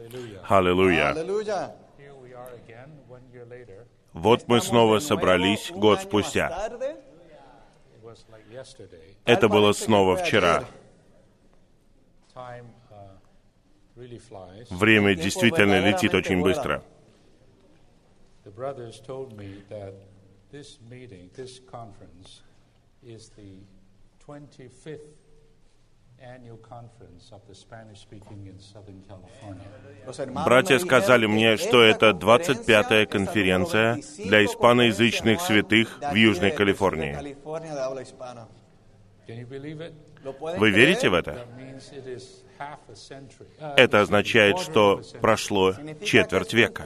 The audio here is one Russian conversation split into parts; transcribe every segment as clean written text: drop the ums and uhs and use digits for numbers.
Аллилуйя. Вот мы снова собрались год спустя. Это было снова вчера. Время действительно летит очень быстро. Братья сказали мне, что это 25-я конференция для испаноязычных святых в Южной Калифорнии. Вы верите в это? Это означает, что прошло четверть века.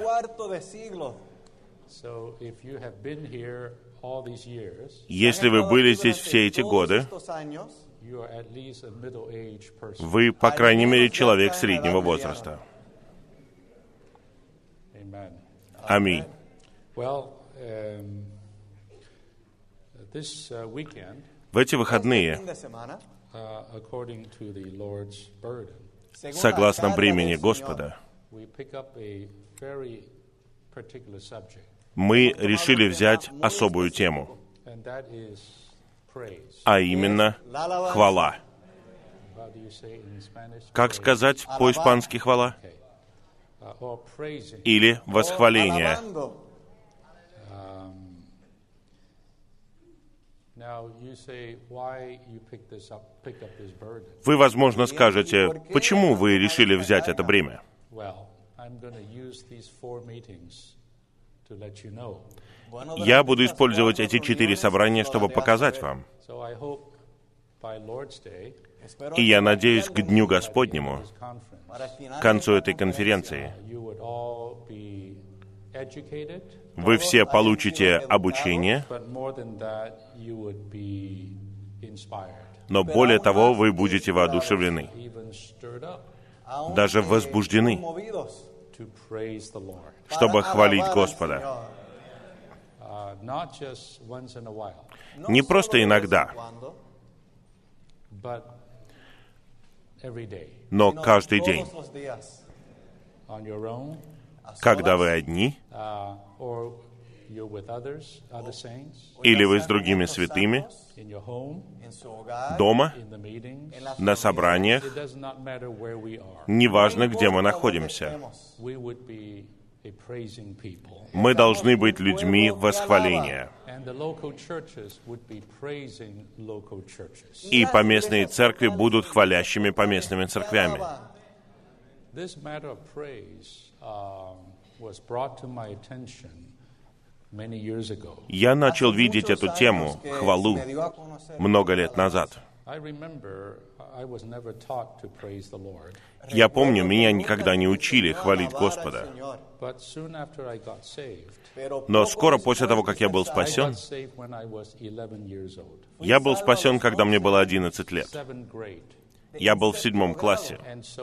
Если вы были здесь все эти годы, вы, по крайней мере, человек среднего возраста. Аминь. В эти выходные, согласно бремени Господа, мы решили взять особую тему, а именно хвала. Как сказать по-испански хвала? Или восхваление. Вы, возможно, скажете, почему вы решили взять это бремя? Я буду использовать эти 4 собрания, чтобы показать вам. И я надеюсь, к Дню Господнему, к концу этой конференции, вы все получите обучение, но более того, вы будете воодушевлены, даже возбуждены, чтобы хвалить Господа. Не просто иногда, но каждый день. Когда вы одни, или вы с другими святыми, дома, на собраниях, неважно, где мы находимся. Мы должны быть людьми восхваления. И поместные церкви будут хвалящими поместными церквями. Я начал видеть эту тему, хвалу, много лет назад. Я помню, меня никогда не учили хвалить Господа. Но скоро после того, как я был спасен, я был спасен, когда мне было 11 лет. Я был в 7 классе.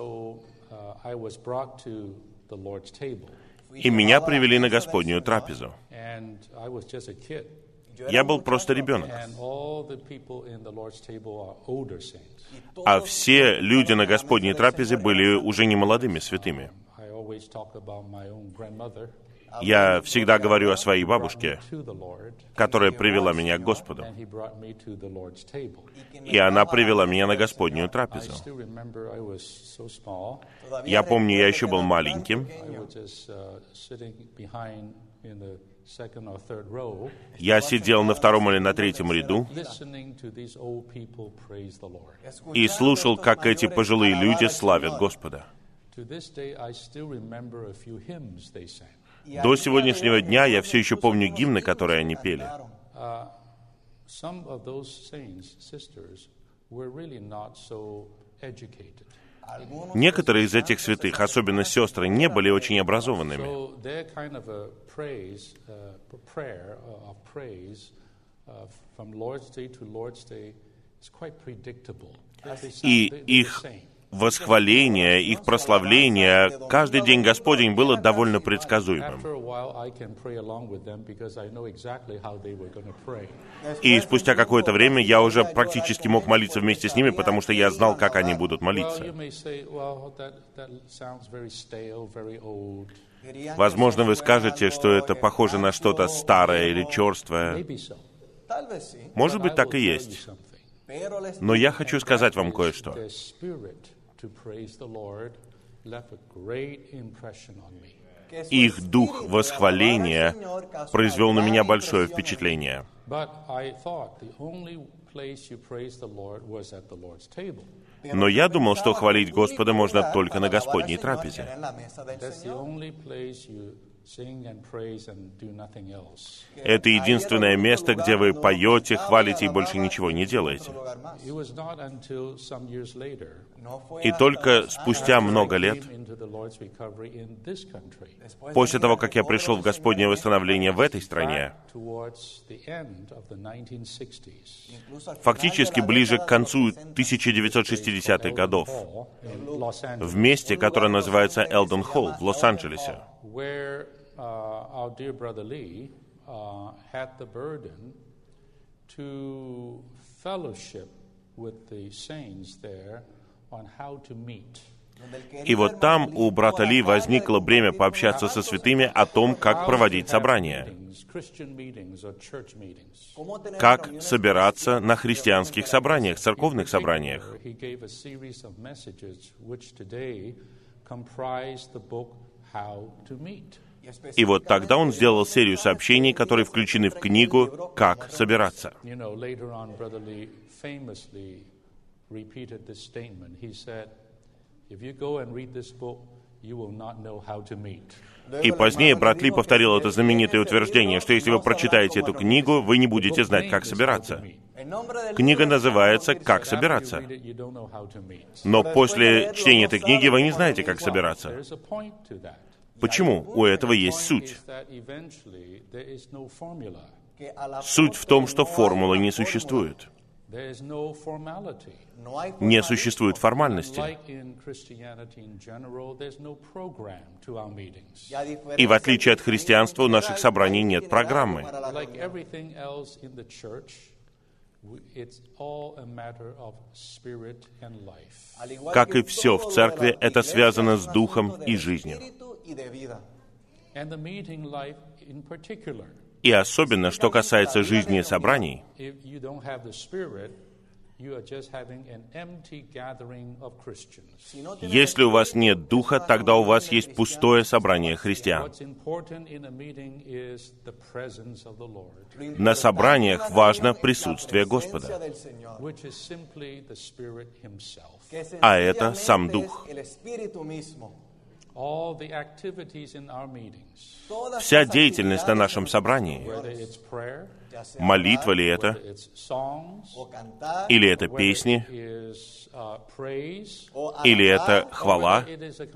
И меня привели на Господнюю трапезу. Я был просто ребенок. А все люди на Господней трапезе были уже не молодыми святыми. Я всегда говорю о своей бабушке, которая привела меня к Господу. И она привела меня на Господнюю трапезу. Я помню, я еще был маленьким. Я сидел на 2-м или на 3-м ряду и слушал, как эти пожилые люди славят Господа. До сегодняшнего дня я все еще помню гимны, которые они пели. Некоторые из этих святых, особенно сестры, не были очень образованными. И их восхваление, их прославление, каждый день Господень было довольно предсказуемым. И спустя какое-то время я уже практически мог молиться вместе с ними, потому что я знал, как они будут молиться. Возможно, вы скажете, что это похоже на что-то старое или черствое. Может быть, так и есть. Но я хочу сказать вам кое-что. Их дух восхваления произвел на меня большое впечатление. Но я думал, что хвалить Господа можно только на Господней трапезе. Это единственное место, где вы поете, хвалите и больше ничего не делаете. И только спустя много лет, после того, как я пришел в Господнее восстановление в этой стране, фактически ближе к концу 1960-х годов, в месте, которое называется Элден Холл в Лос-Анджелесе, our dear brother Lee had the burden to fellowship with the saints there on how to meet. И вот там у брата Ли возникло бремя пообщаться со святыми о том, как проводить собрания, как собираться на христианских собраниях, церковных собраниях. И вот тогда он сделал серию сообщений, которые включены в книгу «Как собираться». И позднее брат Ли повторил это знаменитое утверждение, что если вы прочитаете эту книгу, вы не будете знать, как собираться. Книга называется «Как собираться». Но после чтения этой книги вы не знаете, как собираться. Почему? У этого есть суть. Суть в том, что формулы не существует. Не существует формальности. И в отличие от христианства, у наших собраний нет программы. Как и все в церкви, это связано с духом и жизнью. И особенно, что касается жизни собраний, если у вас нет духа, тогда у вас есть пустое собрание христиан. На собраниях важно присутствие Господа, а это сам Дух. Вся деятельность на нашем собрании, молитва ли это, или это песни, или это хвала,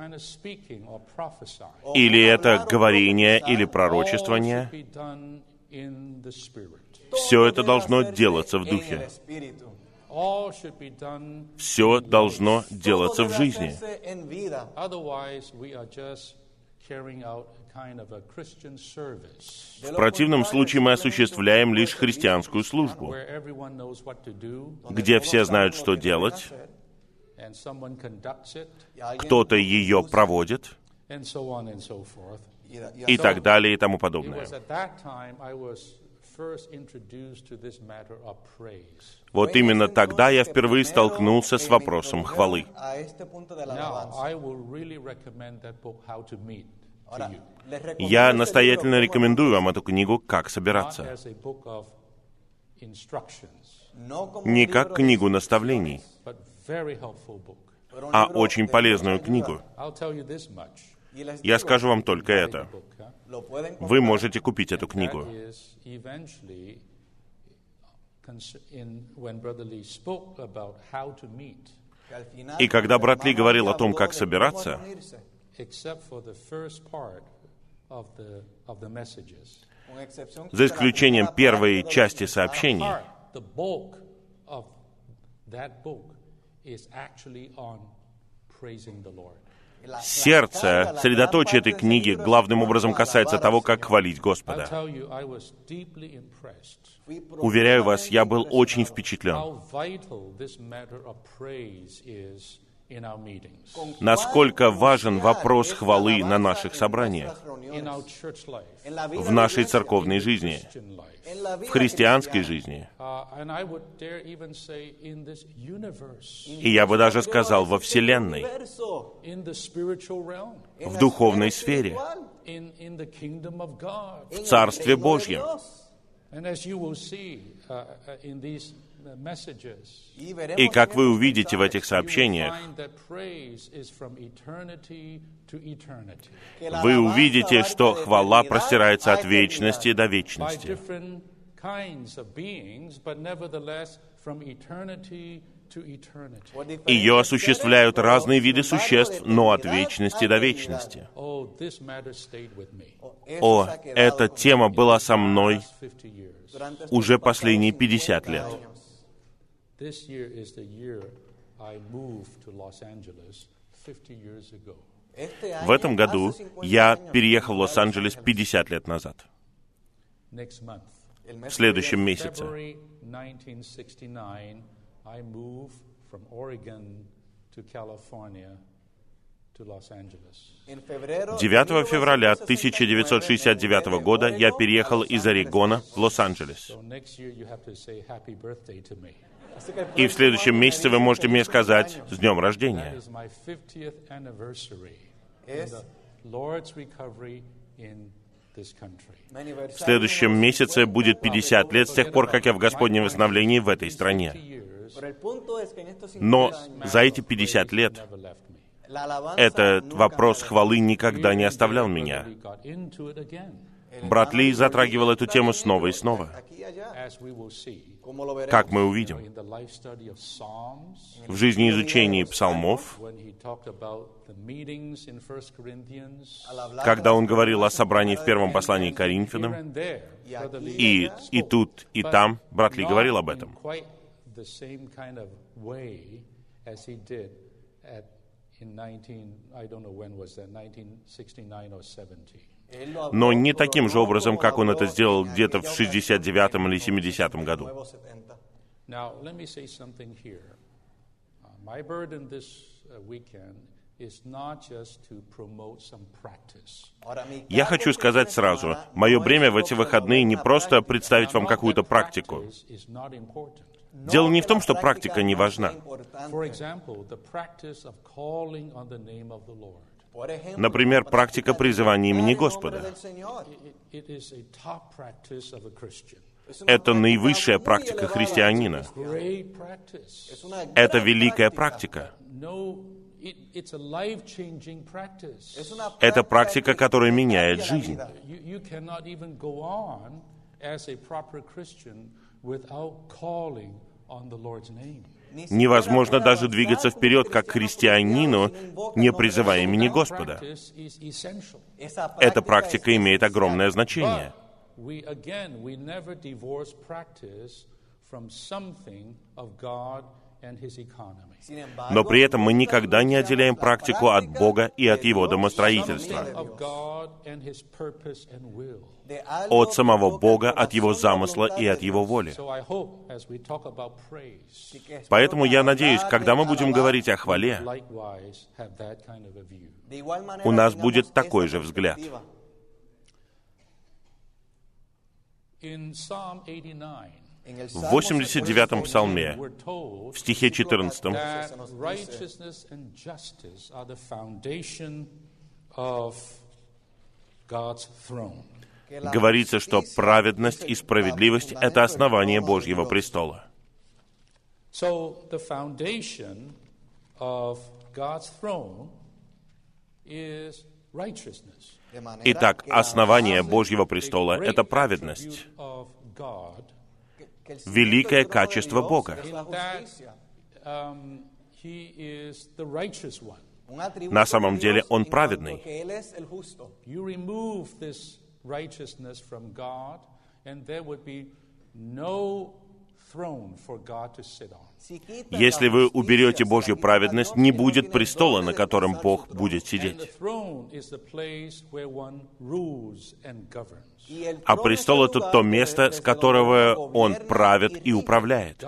или это говорение или пророчествование, все это должно делаться в Духе. Все должно делаться в жизни. В противном случае мы осуществляем лишь христианскую службу, где все знают, что делать, кто-то ее проводит, и так далее, и тому подобное. Вот именно тогда я впервые столкнулся с вопросом хвалы. Я настоятельно рекомендую вам эту книгу «Как собираться». Не как книгу наставлений, а очень полезную книгу. Я скажу вам только это. Вы можете купить эту книгу. И когда брат Ли говорил о том, как собираться, за исключением первой части сообщений, praising the Lord. Сердце, средоточие этой книги главным образом касается того, как хвалить I'll Господа. tell you, I was deeply impressed Уверяю вас, я был очень впечатлен, how vital this matter of praise is in our meetings, насколько важен вопрос хвалы на наших собраниях, in our church life, в нашей церковной жизни, Christian life, в христианской жизни. and I would dare even say in this universe, И я бы даже сказал, во Вселенной, in the spiritual realm, в духовной сфере, in the kingdom of God. в Царстве Божьем. And as you will see in these messages, И как вы увидите в этих you will сообщениях, find that praise is from eternity to eternity. вы увидите, что хвала простирается от вечности до By вечности. different kinds of beings, but nevertheless from eternity to eternity. Ее осуществляют разные виды существ, но от вечности до вечности. Oh, this matter stayed with me. О, эта тема была со мной Last 50 years. уже последние 50 лет. This year is the year I moved to Los Angeles 50 years ago. В этом году я переехал в Лос-Анджелес 50 лет назад. Next month, В следующем месяце, February 1969, I moved from Oregon to California to Los Angeles. 9 февраля 1969 года я переехал из Орегона в Лос-Анджелес. So next year you have to say happy birthday to me. И в следующем месяце вы можете мне сказать «С днем That рождения». is my 50th anniversary in the Lord's recovery in this country. В следующем месяце будет 50 лет с тех пор, как я в Господнем восстановлении в этой стране. Но за эти 50 лет Never left me. этот вопрос хвалы никогда не оставлял меня. We got into it again, Брат Ли затрагивал эту тему снова и снова. as we will see Как мы увидим, in the life study of Psalms, в жизнеизучении псалмов, when he talked about the meetings in 1 Corinthians, когда он говорил о собрании в первом послании к here Коринфянам, and there, Brother Lee и тут, и там брат Ли говорил об in этом. quite the same kind of way as he did in 1969 or 70. Но не таким же образом, как он это сделал где-то в 69-м или 70-м году. Now, let me say something here. My burden this weekend is not just to promote some practice. Я хочу сказать сразу, мое бремя в эти выходные не просто представить вам какую-то практику. Practice is not important. Дело не в том, что практика не важна. For example, the practice of calling on the name of the Lord. Например, практика призывания имени Господа. It is a top practice of a Christian. Это наивысшая практика христианина. Great practice. Это великая практика. No, it's a life-changing practice. Это практика, которая меняет жизнь. You cannot even go on as a proper Christian without calling on the Lord's name. Невозможно даже двигаться вперед как христианину, не призывая имени Господа. Practice is essential. Эта практика имеет огромное значение. We never divorce practice from something of God and His economy. Но при этом мы никогда не отделяем практику от Бога и от Его домостроительства, Of God and His purpose and will. от самого Бога, от Его замысла и от Его воли. So I hope as we talk about praise, Поэтому я надеюсь, когда мы будем говорить о хвале, likewise have that kind of a view. у нас будет такой же взгляд. In Psalm 89, В 89-м псалме, we're told в стихе 14, that righteousness and justice are the foundation of God's throne. говорится, что праведность и справедливость — это основание Божьего престола. So the foundation of God's throne is righteousness. Итак, основание Божьего престола — это праведность, Of God, великое качество Бога. in that He is the righteous one. На самом деле Он праведный. You remove this righteousness from God, and there would be no throne for God to sit on. Если вы уберете Божью праведность, не будет престола, на котором Бог будет сидеть. А престол — это то место, с которого Он правит и управляет.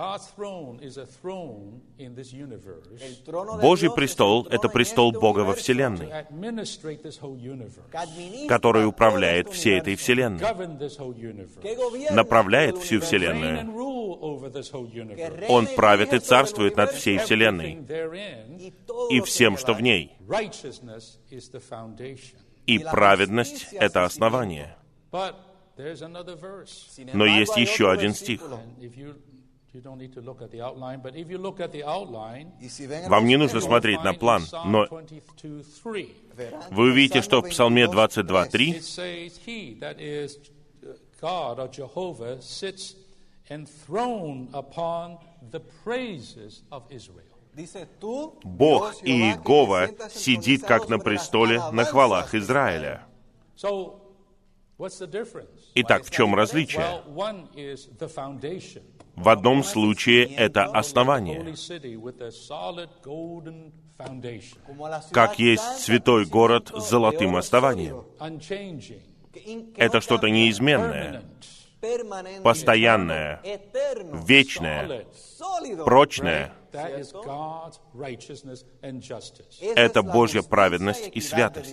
Божий престол — это престол Бога во Вселенной, который управляет всей этой Вселенной, направляет всю Вселенную. Он правит и царствует над всей Вселенной и всем, что в ней. И праведность — это основание. Но есть еще один стих. Вам не нужно смотреть на план, но вы увидите, что в Псалме 22:3 Бог Иегова сидит как на престоле на хвалах Израиля. Итак, в чем различие? В одном случае это основание. Как есть святой город с золотым основанием. Это что-то неизменное, постоянное, вечное, прочное. Это Божья праведность и святость.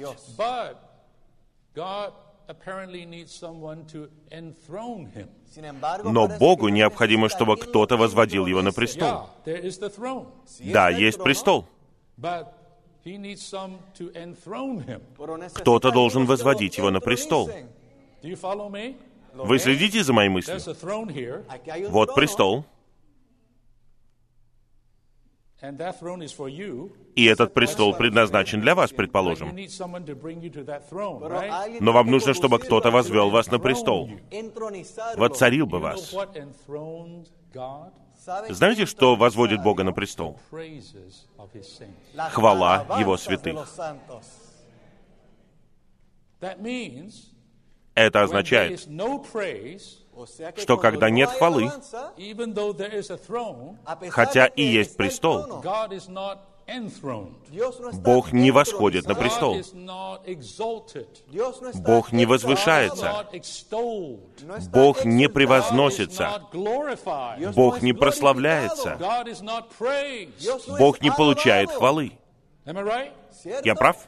Но Богу необходимо, чтобы кто-то возводил Его на престол. Да, есть престол. Кто-то должен возводить Его на престол. Вы следите за моей мыслью? Вот престол. И этот престол предназначен для вас, предположим. Но вам нужно, чтобы кто-то возвел вас на престол. Воцарил бы вас. Знаете, что возводит Бога на престол? Хвала Его святых. Это означает, что когда нет хвалы, хотя и есть престол, Бог не восходит на престол. Бог не возвышается. Бог не превозносится. Бог не прославляется. Бог не получает хвалы. Я прав?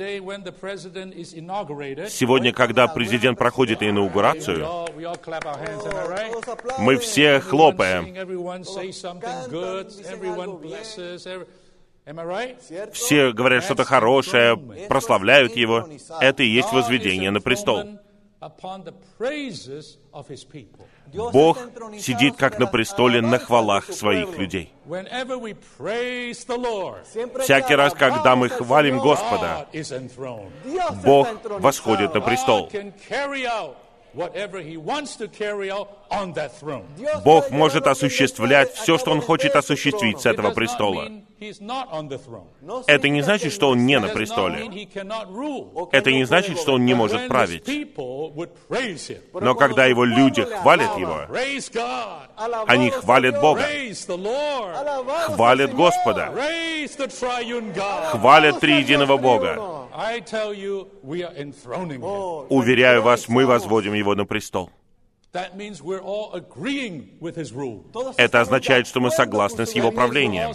Сегодня, когда президент проходит инаугурацию, мы все хлопаем. Все говорят что-то хорошее, прославляют его. Это и есть возведение на престол. Бог сидит как на престоле на хвалах своих людей. Всякий раз, когда мы хвалим Господа, Бог восходит на престол. Бог может осуществлять все, что Он хочет осуществить с этого престола. Это не значит, что Он не на престоле. Это не значит, что Он не может править. Но когда Его люди хвалят Его, они хвалят Бога, хвалят Господа, хвалят триединого Бога. Уверяю вас, мы возводим Его на престол. Это означает, что мы согласны с Его правлением.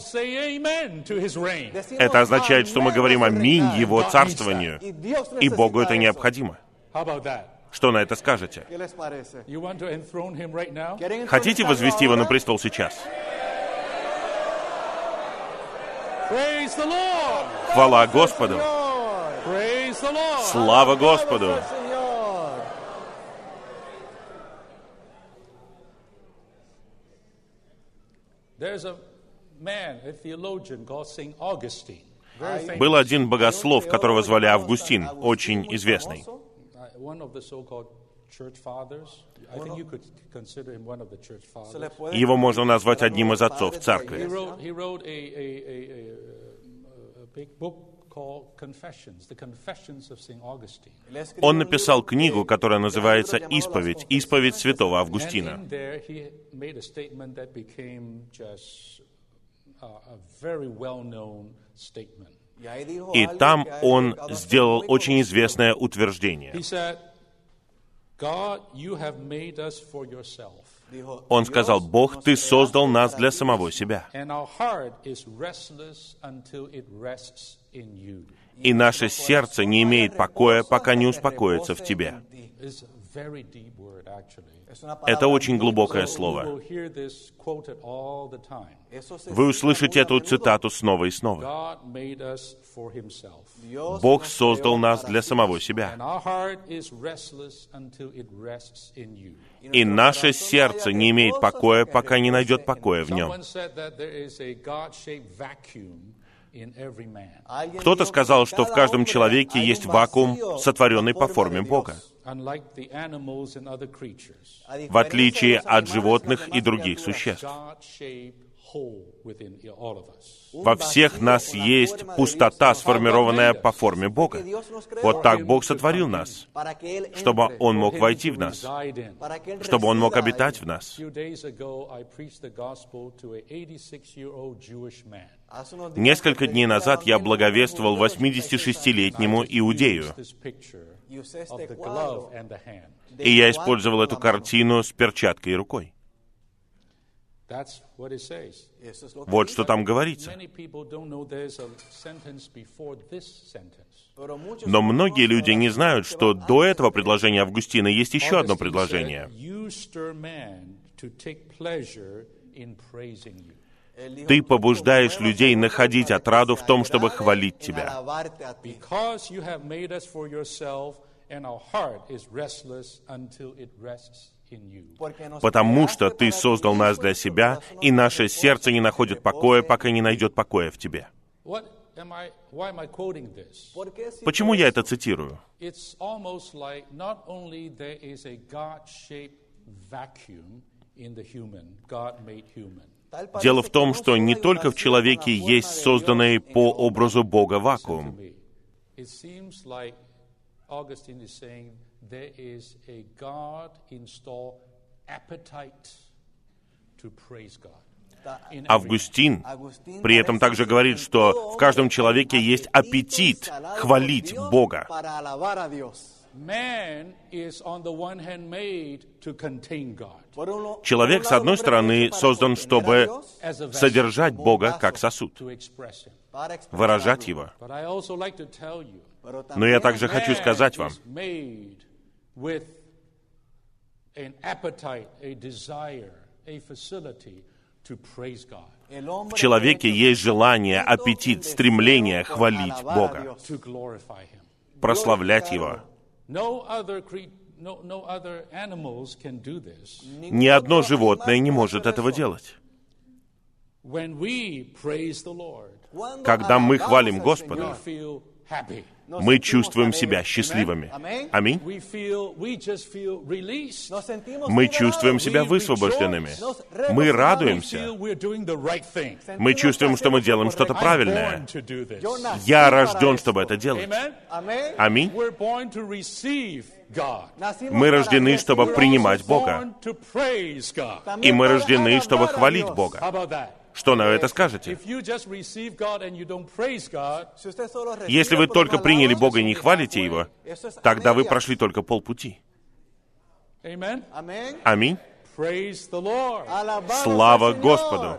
Это означает, что мы говорим «Аминь» Его царствованию. И Богу это необходимо. Что на это скажете? Хотите возвести Его на престол сейчас? Хвала Господу! Слава Господу! Был один богослов, которого звали Августин, очень известный. Его можно назвать одним из отцов церкви. Он написал книгу, которая называется «Исповедь святого Августина». a very well-known statement. И там он сделал очень известное утверждение. He said, God, you have made us for yourself. Он сказал: «Бог, Ты создал нас для самого себя, And our heart is restless until it rests in you. и наше сердце не имеет покоя, пока не успокоится в Тебе». It's a very deep word, actually. Это очень глубокое You слово. will hear this quoted all the time. Вы услышите эту цитату снова и снова. God made us for himself. Бог создал нас для самого себя, And our heart is restless until it rests in you. и наше сердце не имеет покоя, пока не найдет покоя в Нем. Someone said that there is a God-shaped vacuum in every man. Кто-то сказал, что в каждом человеке есть вакуум, сотворенный по форме Бога, Unlike the animals and other creatures, в отличие от животных и других существ. God-shaped hole within all of us. Во всех нас есть пустота, сформированная по форме Бога. Вот так Бог сотворил нас, чтобы Он мог войти в нас, чтобы Он мог обитать в нас. A few days ago, I preached the gospel to an 86-year-old Jewish man. Несколько дней назад я благовествовал 86-летнему иудею, This picture of the glove and the hand. и я использовал эту картину с перчаткой и рукой. That's what it says. Вот что там говорится. Many people don't know there's a sentence before this sentence. Но многие люди не знают, что до этого предложения Августина есть еще одно предложение. You stir man to take pleasure in praising you. Ты побуждаешь людей находить отраду в том, чтобы хвалить Тебя. Because you have made us for yourself, and our heart is restless until it rests in you. Потому что Ты создал нас для себя, и наше сердце не находит покоя, пока не найдет покоя в Тебе. Why am I quoting this? Почему я это цитирую? It's almost like not only there is a God-shaped vacuum in the human, God-made human. Дело в том, что не только в человеке есть созданный по образу Бога вакуум. It seems like Augustine is saying there is a God-installed appetite to praise God. Августин при этом также говорит, что в каждом человеке есть аппетит хвалить Бога. Man is on the one hand made to contain God. Человек, с одной стороны, создан, чтобы содержать Бога как сосуд, To express Him. выражать Его. But I also like to tell you, Но я также хочу сказать вам, is made with an appetite, a desire, a facility to praise God, в человеке есть желание, аппетит, стремление хвалить Бога, to glorify Him. прославлять Его. No other animals can do this. Ни одно животное не может этого делать. When we praise the Lord, Когда мы хвалим we Господа, feel happy. мы чувствуем себя счастливыми. Аминь. We just feel released. Мы чувствуем себя высвобожденными. Мы радуемся. Feel we're doing the right thing. Мы чувствуем, что мы делаем что-то Born правильное. to do this. Я рожден, чтобы это делать. Amen. Аминь. We're born to receive God. Мы рождены, чтобы принимать Бога. Born to praise God. И мы рождены, чтобы хвалить How Бога. about that? Что на это скажете? If you just receive God and you don't praise God, Если вы только приняли Бога и не хвалите Его, тогда вы прошли только полпути. amen. Аминь. Praise the Lord. Слава Господу!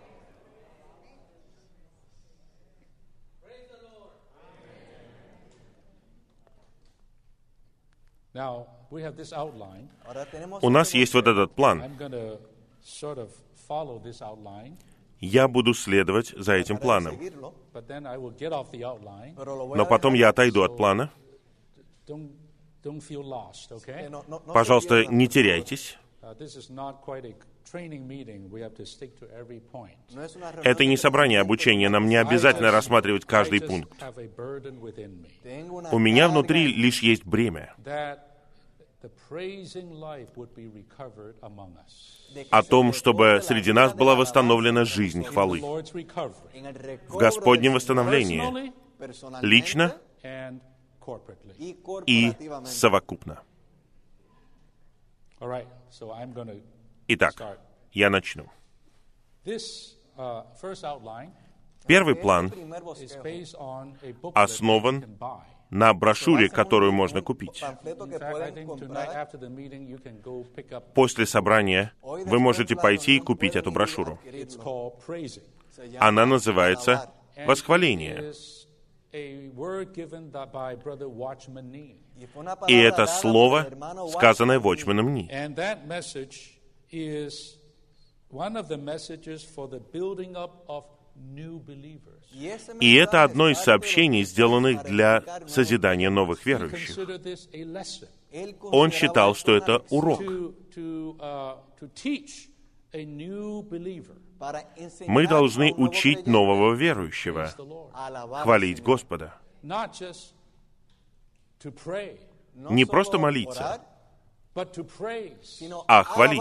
Now, we have this outline. У нас есть вот этот план. I'm going to sort of follow this outline, Я буду следовать за этим планом. but then I will get off the outline. Но потом я отойду от плана. Don't feel lost, okay? Пожалуйста, не теряйтесь. This is not quite a training meeting. We have to stick to every point. Это не собрание обучения, нам не обязательно рассматривать каждый I just пункт. have a burden within me У меня внутри лишь есть бремя that the praising life would be recovered among us. о том, чтобы среди нас была восстановлена жизнь The хвалы. Lord's recovery, В Господнем восстановлении, personally лично and corporately. и совокупно. All right, so I'm going to Итак, start. я начну. This Первый план основан на брошюре, которую можно купить. После собрания вы можете пойти и купить эту брошюру. Она называется «Восхваление». И это слово, сказанное Watchman Nee. И это одно из сообщений, сделанных для созидания новых верующих. Он считал, что это урок. Мы должны учить нового верующего хвалить Господа. Не просто молиться, а хвалить.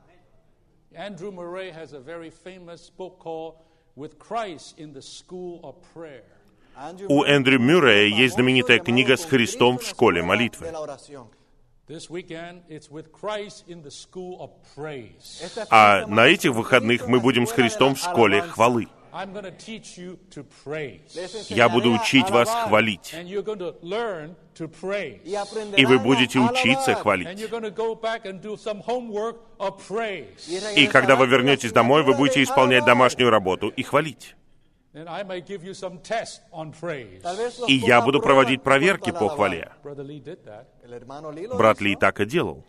У Эндрю Мюррея есть знаменитая книга «С Христом в школе молитвы». А на этих выходных мы будем с Христом в школе хвалы. Я буду учить вас хвалить. И вы будете учиться хвалить. И когда вы вернетесь домой, вы будете исполнять домашнюю работу и хвалить. И я буду проводить проверки по хвале. Брат Ли так и делал.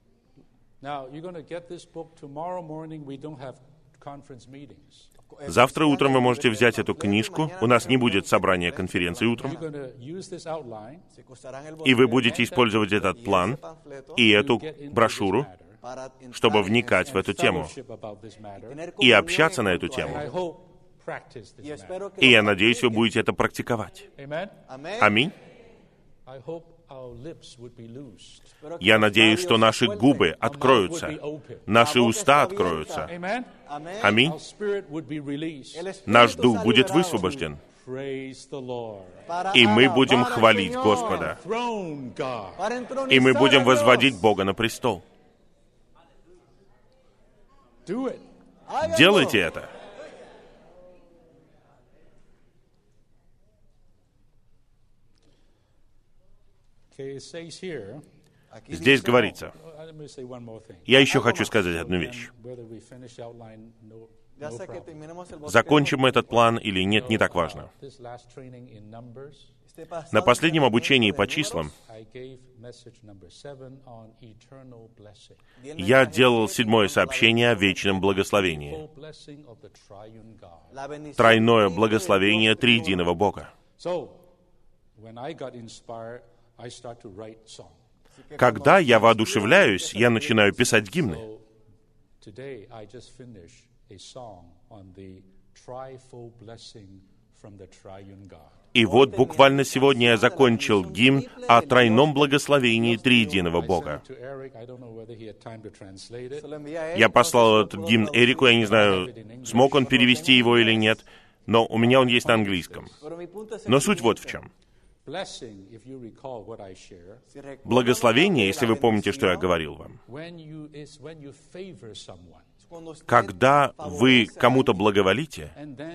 Завтра утром вы можете взять эту книжку. У нас не будет собрания конференции утром. И вы будете использовать этот план и эту брошюру, чтобы вникать в эту тему и общаться на эту тему. И я надеюсь, вы будете это практиковать. Аминь. Я надеюсь, что наши губы откроются, наши уста откроются. Аминь. Наш дух будет высвобожден. И мы будем хвалить Господа. И мы будем возводить Бога на престол. Делайте это. Здесь говорится, я еще хочу сказать одну вещь. Закончим мы этот план или нет, не так важно. На последнем обучении по числам я делал 7-е сообщение о вечном благословении. Тройное благословение триединого Бога. Когда я воодушевляюсь, я начинаю писать гимны. И вот буквально сегодня я закончил гимн о тройном благословении триединого Бога. Я послал этот гимн Эрику, я не знаю, смог он перевести его или нет, но у меня он есть на английском. Но суть вот в чем. Благословение, если вы помните, что я говорил вам, когда вы кому-то благоволите,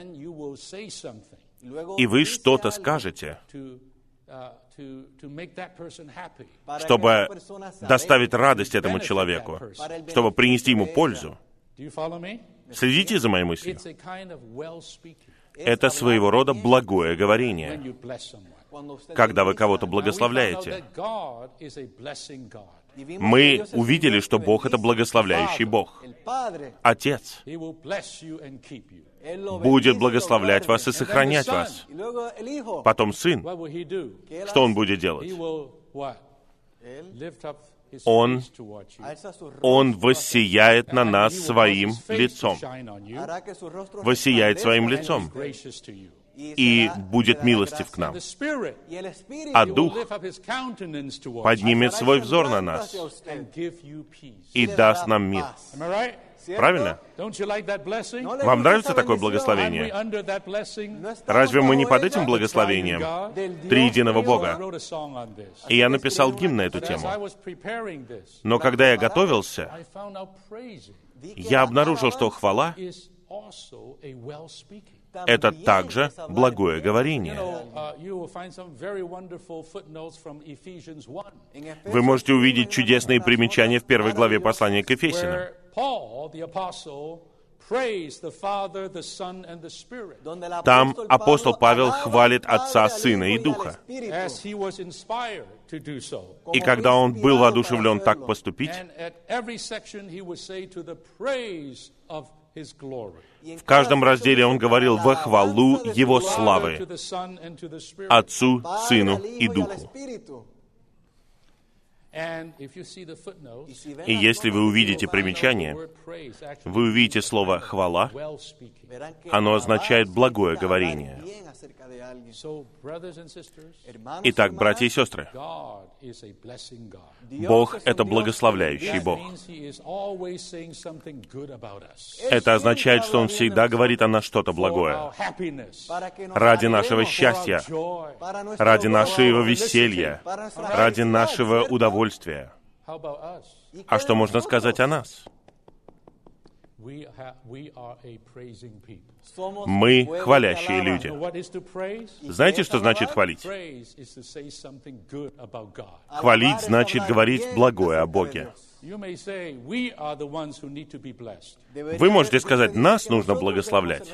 и вы что-то скажете, чтобы доставить радость этому человеку, чтобы принести ему пользу. Следите за моей мыслью. Это своего рода благое говорение, когда вы кого-то благословляете. Мы увидели, что Бог — это благословляющий Бог. Отец будет благословлять вас и сохранять вас. Потом Сын. Что Он будет делать? Он воссияет на нас своим лицом. Воссияет своим лицом. И будет милостив к нам. А Дух поднимет свой взор на нас и даст нам мир. Правильно? Вам нравится такое благословение? Разве мы не под этим благословением триединого Бога? И я написал гимн на эту тему. Но когда я готовился, я обнаружил, что хвала Это также благое говорение. Вы можете увидеть чудесные примечания в 1 главе послания к Ефесянам. Там апостол Павел хвалит Отца, Сына и Духа. И когда он был воодушевлен так поступить, в каждом разделе он говорил во хвалу Его славы Отцу, Сыну и Духу. И если вы увидите примечание, вы увидите слово «хвала», оно означает «благое говорение». Итак, братья и сестры, Бог — это благословляющий Бог. Это означает, что Он всегда говорит о нас что-то благое. Ради нашего счастья, ради нашего веселья, ради нашего удовольствия. А что можно сказать о нас? Мы хвалящие люди. Знаете, что значит хвалить? Хвалить значит говорить благое о Боге. Вы можете сказать, нас нужно благословлять.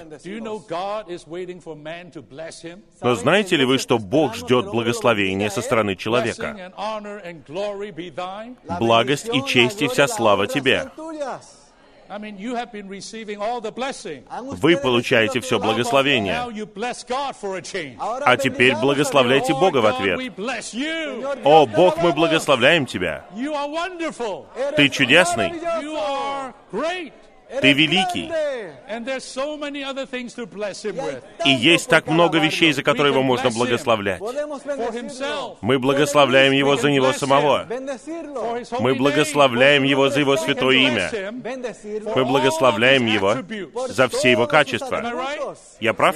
Но знаете ли вы, что Бог ждет благословения со стороны человека? Благость и честь и вся слава тебе. Вы получаете все благословение. А теперь благословляйте Бога в ответ. О, Бог, мы благословляем Тебя. Ты чудесный. Ты великий. И есть так много вещей, за которые Его можно благословлять. Мы благословляем Его за Него самого. Мы благословляем Его за Его святое имя. Мы благословляем Его за все Его качества. Я прав?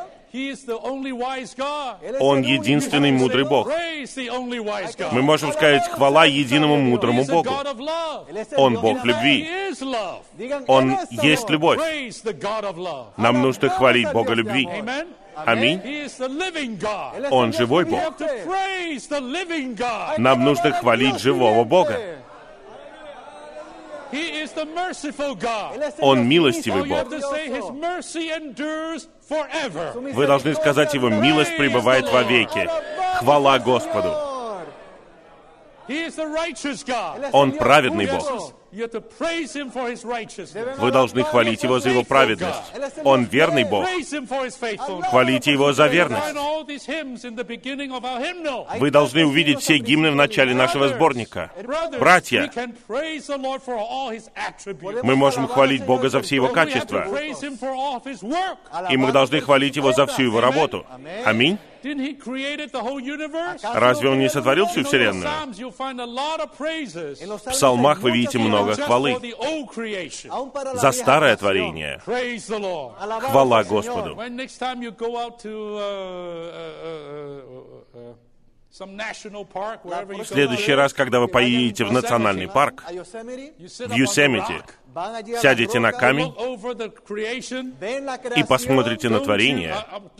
Он единственный мудрый Бог. Мы можем сказать хвала единому мудрому Богу. Он Бог любви. Он есть любовь. Нам нужно хвалить Бога любви. Аминь. Он живой Бог. Нам нужно хвалить живого Бога. Он милостивый Бог. Вы должны сказать Его, милость пребывает вовеки. Хвала Господу. Он праведный Бог. Вы должны хвалить Его за Его праведность. Он верный Бог. Хвалите Его за верность. Вы должны увидеть все гимны в начале нашего сборника. Братья, мы можем хвалить Бога за все Его качества. И мы должны хвалить Его за всю Его работу. Аминь. Разве Он не сотворил всю Вселенную? В псалмах вы видите много хвалы. За старое творение. Хвала Господу. В следующий раз, когда вы поедете в национальный парк, в Йосемите, сядете на камень и посмотрите на творение,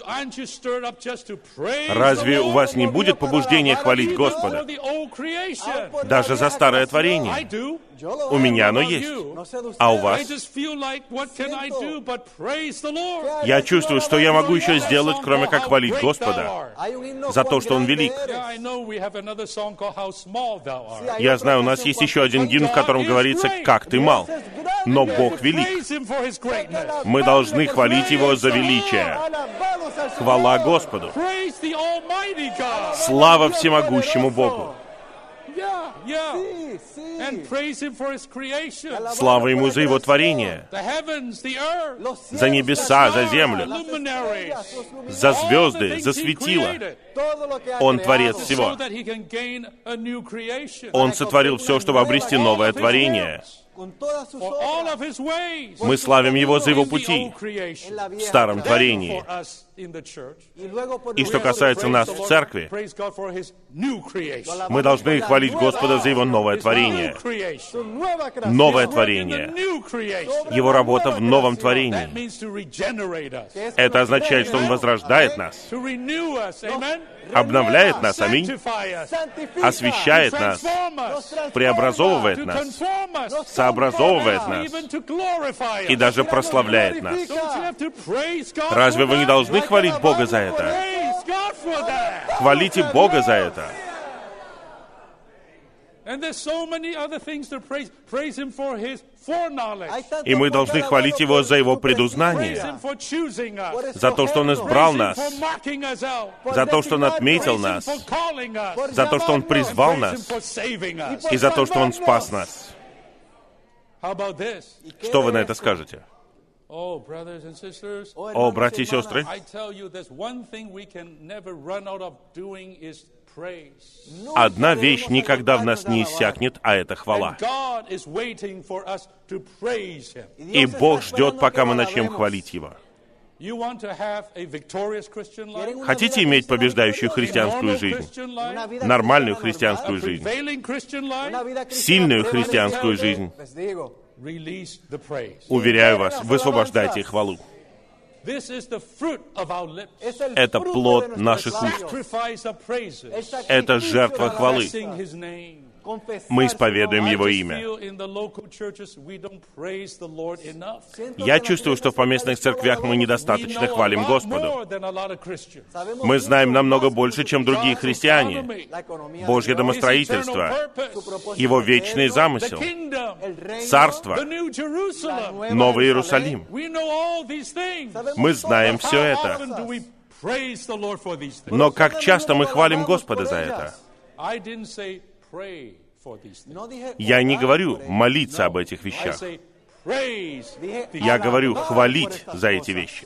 разве у вас не будет побуждения хвалить Господа? Даже за старое творение. У меня оно есть. А у вас? Я чувствую, что я могу еще сделать, кроме как хвалить Господа за то, что Он велик. Я знаю, у нас есть еще один гимн, в котором говорится «Как ты мал». Но Бог велик. Мы должны хвалить Его за величие. Хвала Господу. Слава всемогущему Богу. Слава Ему за Его творение, за небеса, за землю, за звезды, за светила. Он Творец всего. Он сотворил все, чтобы обрести новое творение. for all of His ways Мы славим Его за Его in the пути old creation. в старом Then творении. for us in the church, И что we have to касается praise нас the в Lord, церкви, praise God for His new creation. мы должны хвалить Господа за Его новое His творение. new creation. Новое His work in the творение. new creation. Его работа в новом That творении. means to regenerate us, Это означает, что Он возрождает нас, to renew us, amen, обновляет нас, аминь, sanctify us, освещает нас, transform us, преобразовывает to нас, conform us, сообразовывает нас even to glorify и us. даже прославляет нас. Don't you have to praise God Разве for вы не that? должны хвалить Бога за это? Praise God for that. Хвалите Бога за это. And there's so many other things to praise. Praise Him for His foreknowledge. И мы должны хвалить Его за Его Praise предузнание, Him for choosing us. за то, что Он избрал Praise Him нас, for marking us out. за то, что Он отметил Praise Him нас, for calling us. за то, что Он призвал Praise Him нас, for saving us. и за то, что Он спас нас. How about this? Что вы на это скажете? Oh, brothers and sisters, О, братья и сестры, I tell you, there's one thing we can never run out of doing is praise. одна вещь никогда в нас не иссякнет, а это хвала. And God is waiting for us to praise Him. И Бог ждет, пока мы начнем хвалить Его. You want to have a victorious Christian life? Хотите иметь побеждающую A христианскую normal жизнь, Christian life? нормальную A христианскую жизнь, prevailing Christian life? сильную христианскую жизнь? Release the praise. Уверяю вас, высвобождайте хвалу. This is the fruit of our lips. Это плод наших уст. Sacrifice of praises. Это жертва хвалы. Confessing His name. Мы исповедуем Его I just имя. feel in the local churches we don't praise the Lord enough. Я чувствую, что в поместных церквях мы We недостаточно know a хвалим lot Господу. more than a lot of Christians. Мы знаем намного больше, чем другие God's христиане. economy, Божье His домостроительство, eternal purpose, Его вечный the замысел, kingdom, Царство, the new Jerusalem. Новый Иерусалим. We know all these things. Мы знаем все How это. often do we praise the Lord for these things? Но как часто мы хвалим Господа за это? I didn't say pray for these things. Я не говорю молиться об этих I вещах. say praise these Я говорю хвалить за эти вещи.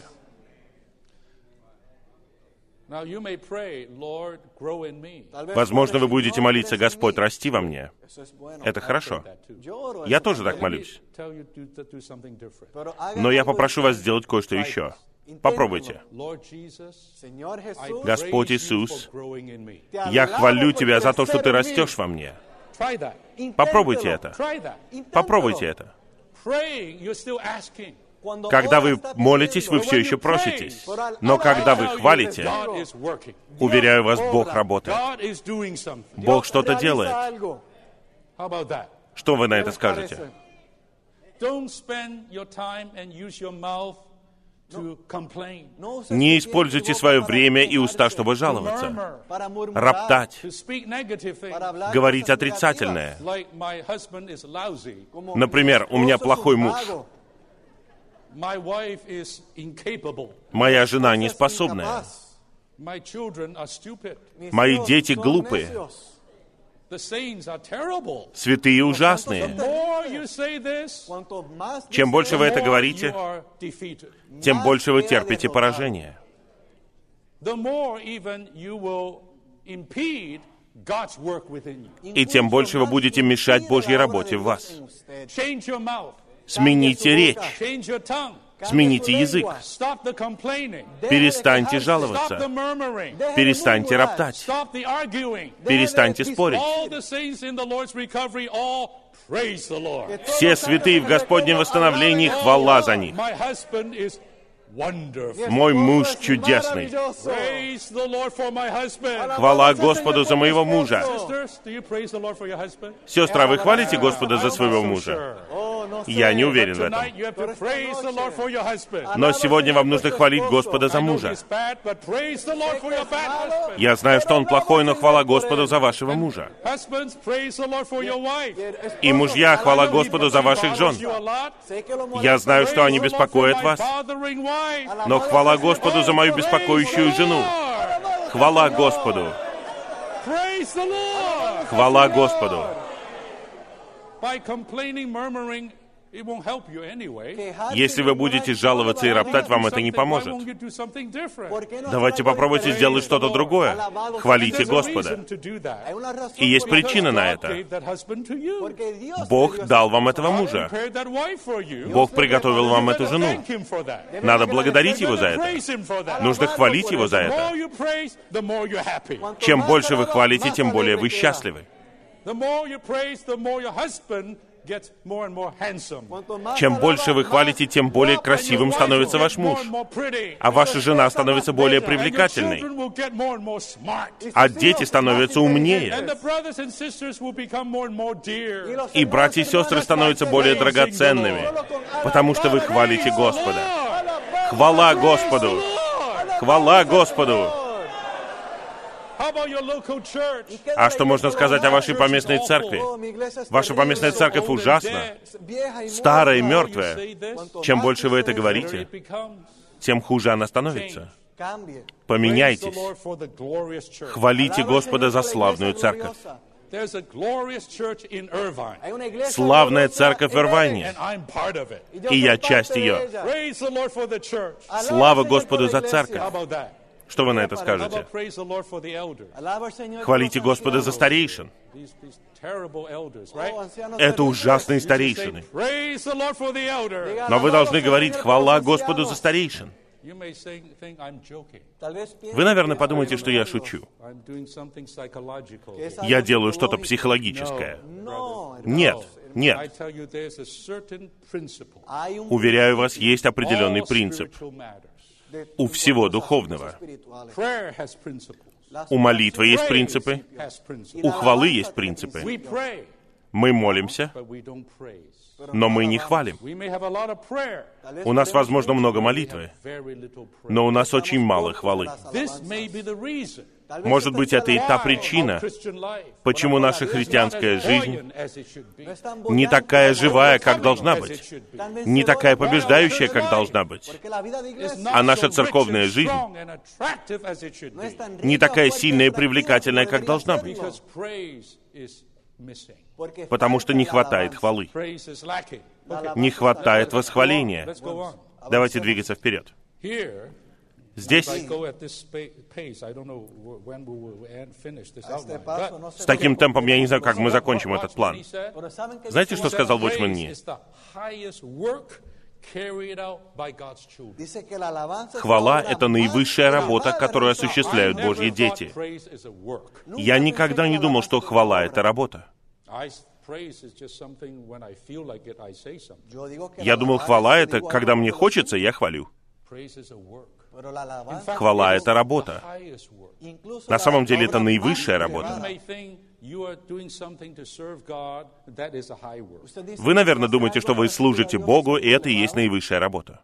Now you may pray, Lord, grow in me. Возможно, вы будете молиться: «Господь, расти во мне». Это хорошо. Я тоже так молюсь. Tell you to do something different. Но я попрошу вас сделать кое-что еще. Попробуйте. Lord Jesus, I Господь praise you Иисус, for growing in me. я хвалю Тебя за то, что Ты растешь во мне. Try that. Попробуйте это. Try that. Попробуйте это. Praying, you're still asking. Когда вы молитесь, вы все еще проситесь. Но когда вы хвалите, God is working. уверяю вас, Бог работает. God is doing something. Бог что-то делает. How about that? Что вы на это скажете? Don't spend your time and use your mouth to complain, Не используйте свое время и уста, чтобы жаловаться, murmur, роптать, to speak negative things. говорить отрицательное. Like my husband is lousy, Например, у меня плохой муж, my wife is incapable, моя жена неспособная, my children are stupid, мои дети глупые, the saints are terrible. святые The ужасные. more you say this, Чем больше вы это the more you говорите, are defeated. тем больше вы терпите поражение. The more even you will impede God's work within you. И тем больше вы будете мешать Божьей работе в вас. Change your mouth, Смените речь, change your tongue, смените язык, stop the complaining, перестаньте stop the жаловаться, murmuring, перестаньте роптать, stop the arguing. перестаньте спорить. All the saints in the Lord's recovery all praise the Lord. Все святые в Господнем восстановлении, хвала за них. My husband is wonderful. Мой муж чудесный. Praise the Lord for my husband. Хвала Господу за моего мужа. Sisters, do you praise the Lord for your husband? Сестра, вы хвалите Господа за своего I'm not so мужа? sure. Я не уверен в этом. Tonight you have to praise the Lord for your husband. Но сегодня вам нужно хвалить Господа за I know мужа. he's bad, but praise the Lord for your bad husband. Я знаю, что он плохой, но хвала Господу за вашего мужа. Husbands, praise the Lord for your wife. И мужья, хвала Господу за ваших жен. Я знаю, что они беспокоят вас, но хвала Господу за мою беспокоящую жену. Хвала Господу. Хвала Господу. By complaining, murmuring Если вы будете жаловаться и роптать, вам это не поможет. Давайте попробуйте сделать что-то другое. Хвалите Господа. И есть причина на это. Бог дал вам этого мужа. Бог приготовил вам эту жену. Надо благодарить Его за это. Нужно хвалить Его за это. Чем больше вы хвалите, тем более вы счастливы. Чем больше вы хвалите, тем более красивым становится ваш муж. А ваша жена становится более привлекательной. А дети становятся умнее. И братья и сестры становятся более драгоценными, потому что вы хвалите Господа. Хвала Господу! Хвала Господу! А что можно сказать о вашей поместной церкви? Ваша поместная церковь ужасна, старая и мертвая. Чем больше вы это говорите, тем хуже она становится. Поменяйтесь. Хвалите Господа за славную церковь. Славная церковь в Ирвайне, и я часть ее. Слава Господу за церковь. Что вы на это скажете? Хвалите Господа за старейшин. Это ужасные старейшины. Но вы должны говорить «Хвала Господу за старейшин». Вы, наверное, подумаете, что я шучу. Я делаю что-то психологическое. Нет, нет. Уверяю вас, есть определенный принцип у всего духовного. У молитвы есть принципы, у хвалы есть принципы. Мы молимся, но мы не хвалим. У нас, возможно, много молитвы, но у нас очень мало хвалы. Может быть, это и та причина, почему наша христианская жизнь не такая живая, как должна быть, не такая побеждающая, как должна быть. А наша церковная жизнь не такая сильная и привлекательная, как должна быть. Потому что не хватает хвалы. Не хватает восхваления. Давайте двигаться вперед. Здесь, с таким темпом, я не знаю, как мы закончим этот план. Знаете, что сказал Watchman Nee? Хвала — это наивысшая работа, которую осуществляют Божьи дети. Я никогда не думал, что хвала — это работа. Я думал, хвала — это когда мне хочется, я хвалю. Хвала — это работа. На самом деле, это наивысшая работа. Вы, наверное, думаете, что вы служите Богу, и это и есть наивысшая работа.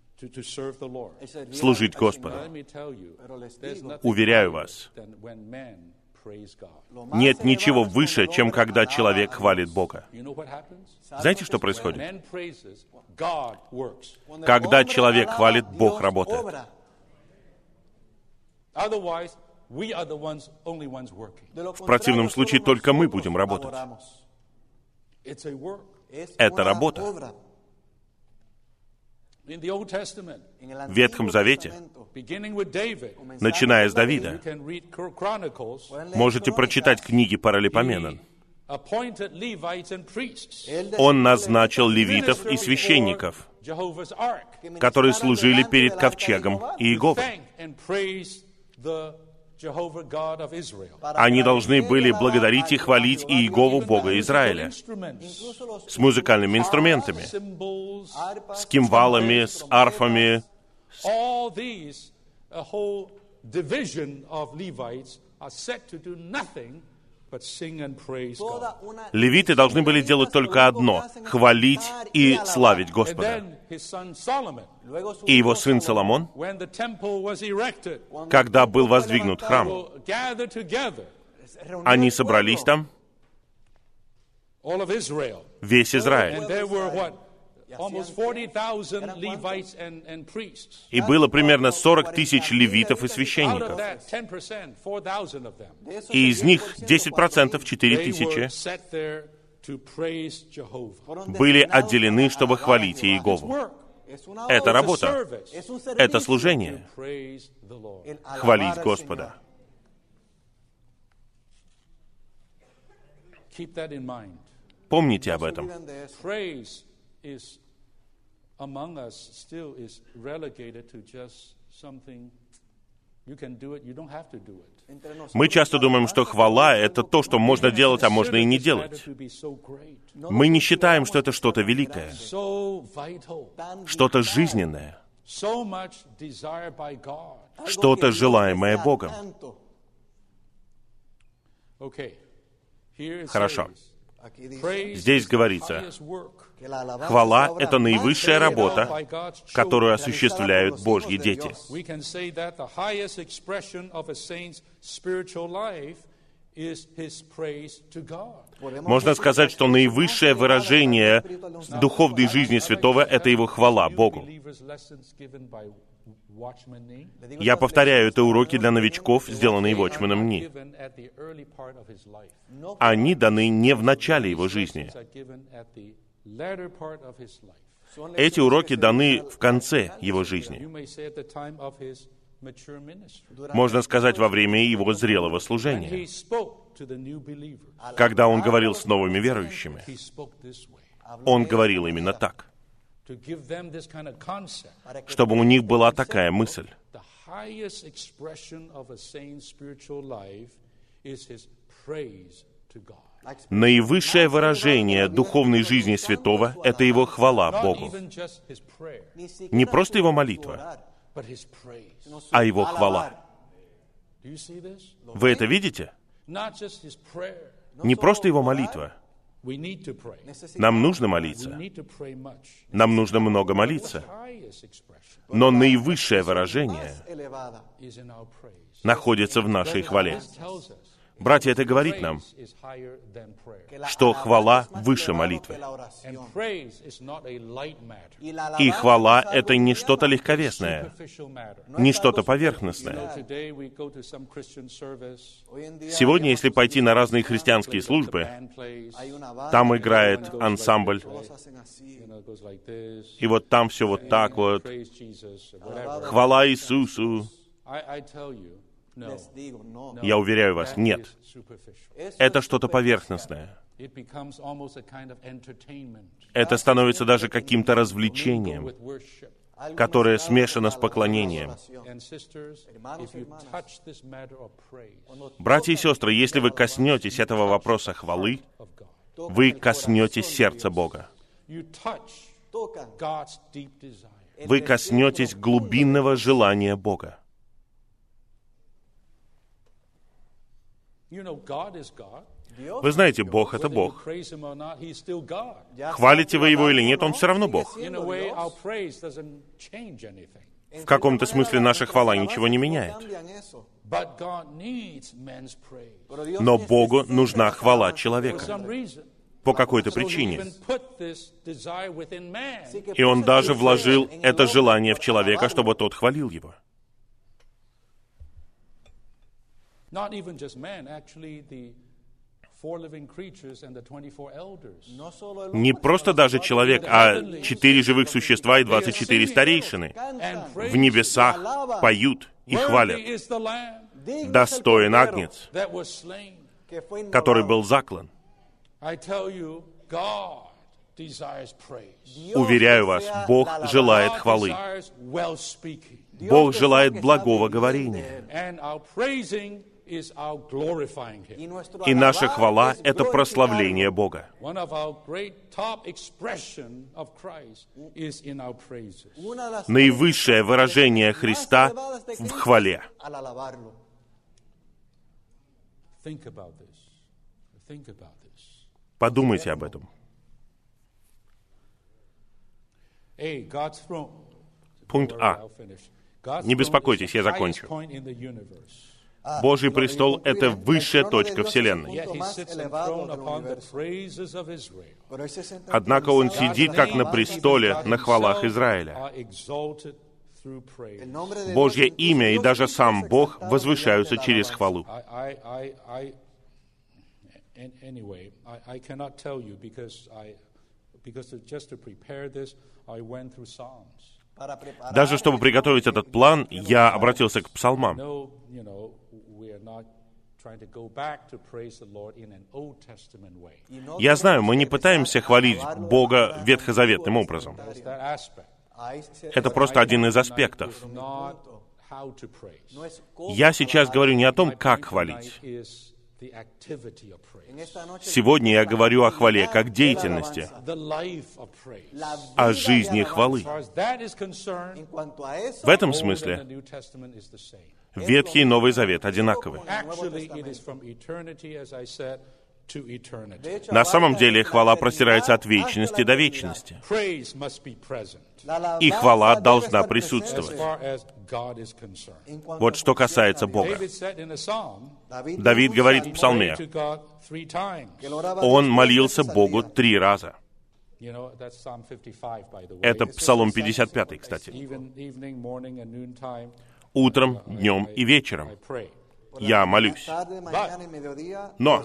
Служить Господу. Уверяю вас, нет ничего выше, чем когда человек хвалит Бога. Знаете, что происходит? Когда человек хвалит, Бог работает. В противном случае только мы будем работать. Это работа. В Ветхом Завете, начиная с Давида, можете прочитать книги Паралипоменон. Он назначил левитов и священников, которые служили перед ковчегом Иеговы. Они должны были благодарить и хвалить Иегову, Бога Израиля, с музыкальными инструментами, с кимвалами, с арфами. Левиты должны были делать только одно — хвалить и славить Господа. И его сын Соломон, когда был воздвигнут храм, они собрались там, весь Израиль. И было примерно 40 тысяч левитов и священников. И из них 10%, 4 тысячи, были отделены, чтобы хвалить Иегову. Это работа, это служение, хвалить Господа. Помните об этом. Мы часто думаем, что хвала — это то, что можно делать, а можно и не делать. Мы не считаем, что это что-то великое, что-то жизненное, что-то желаемое Богом. Хорошо. Здесь говорится, хвала — это наивысшая работа, которую осуществляют Божьи дети. Можно сказать, что наивысшее выражение духовной жизни святого — это его хвала Богу. Я повторяю, это уроки для новичков, сделанные Watchman Ни. Они даны не в начале его жизни. Эти уроки даны в конце его жизни. Можно сказать, во время его зрелого служения, когда он говорил с новыми верующими. Он говорил именно так, чтобы у них была такая мысль. Наивысшее выражение духовной жизни святого — это его хвала Богу. Не просто его молитва, а его хвала. Вы это видите? Не просто его молитва. Нам нужно молиться. Нам нужно много молиться. Но наивысшее выражение находится в нашей хвале. Братья, это говорит нам, что хвала выше молитвы. И хвала — это не что-то легковесное, не что-то поверхностное. Сегодня, если пойти на разные христианские службы, там играет ансамбль, и вот там все вот так вот. Хвала Иисусу. Я уверяю вас, нет. Это что-то поверхностное. Это становится даже каким-то развлечением, которое смешано с поклонением. Братья и сестры, если вы коснетесь этого вопроса хвалы, вы коснетесь сердца Бога. Вы коснетесь глубинного желания Бога. Вы знаете, Бог — это Бог. Хвалите вы Его или нет, Он все равно Бог. В каком-то смысле наша хвала ничего не меняет. Но Богу нужна хвала человека. По какой-то причине. И Он даже вложил это желание в человека, чтобы тот хвалил Его. Не просто даже человек, а 4 живых существа и 24 старейшины в небесах поют и хвалят. Достоин Агнец, который был заклан. Уверяю вас, Бог желает хвалы. Бог желает благого говорения. И наша хвала — это прославление Бога. Наивысшее выражение Христа в хвале. Подумайте об этом. Пункт А. Не беспокойтесь, я закончу. Божий престол — это высшая точка Вселенной. Однако Он сидит, как на престоле, на хвалах Израиля. Божье имя и даже сам Бог возвышаются через хвалу. Anyway, I cannot tell you because just to prepare this, I went through Psalms. Даже чтобы приготовить этот план, я обратился к псалмам. Я знаю, мы не пытаемся хвалить Бога ветхозаветным образом. Это просто один из аспектов. Я сейчас говорю не о том, как хвалить. Сегодня я говорю о хвале как деятельности, о жизни хвалы. В этом смысле Ветхий и Новый Завет одинаковы. На самом деле хвала простирается от вечности до вечности. И хвала должна присутствовать. Вот что касается Бога. Давид говорит в псалме, он молился Богу 3 раза. Это Псалом 55, кстати. Утром, днем и вечером я молюсь. Но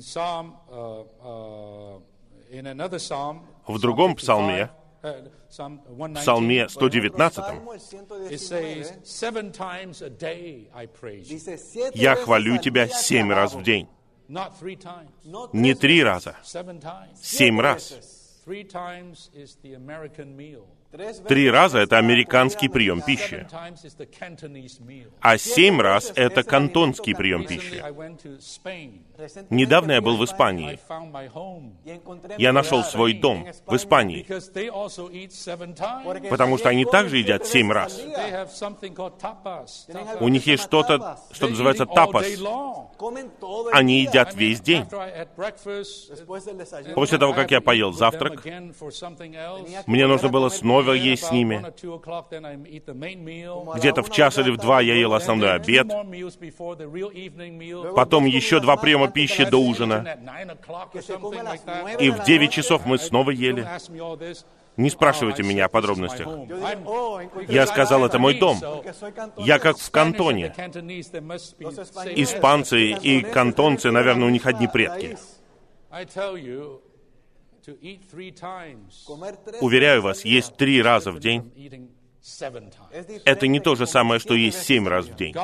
в другом псалме, Псалме 119, «Я хвалю Тебя 7 раз в день». Не 3 раза, 7 раз. 3 раза — это американский прием пищи, а 7 раз — это кантонский прием пищи. Недавно я был в Испании. Я нашел свой дом в Испании, потому что они также едят 7 раз. У них есть что-то, что называется тапас. Они едят весь день. После того, как я поел завтрак, мне нужно было снова есть с ними. Где-то в 1 или в 2 я ел основной обед. Потом еще 2 приема пищи до ужина. И в 9 часов мы снова ели. Не спрашивайте меня о подробностях. Я сказал, это мой дом. Я как в Кантоне. Испанцы и кантонцы, наверное, у них одни предки. Уверяю вас, есть 3 раза в день. Это не то же самое, что есть 7 раз в день.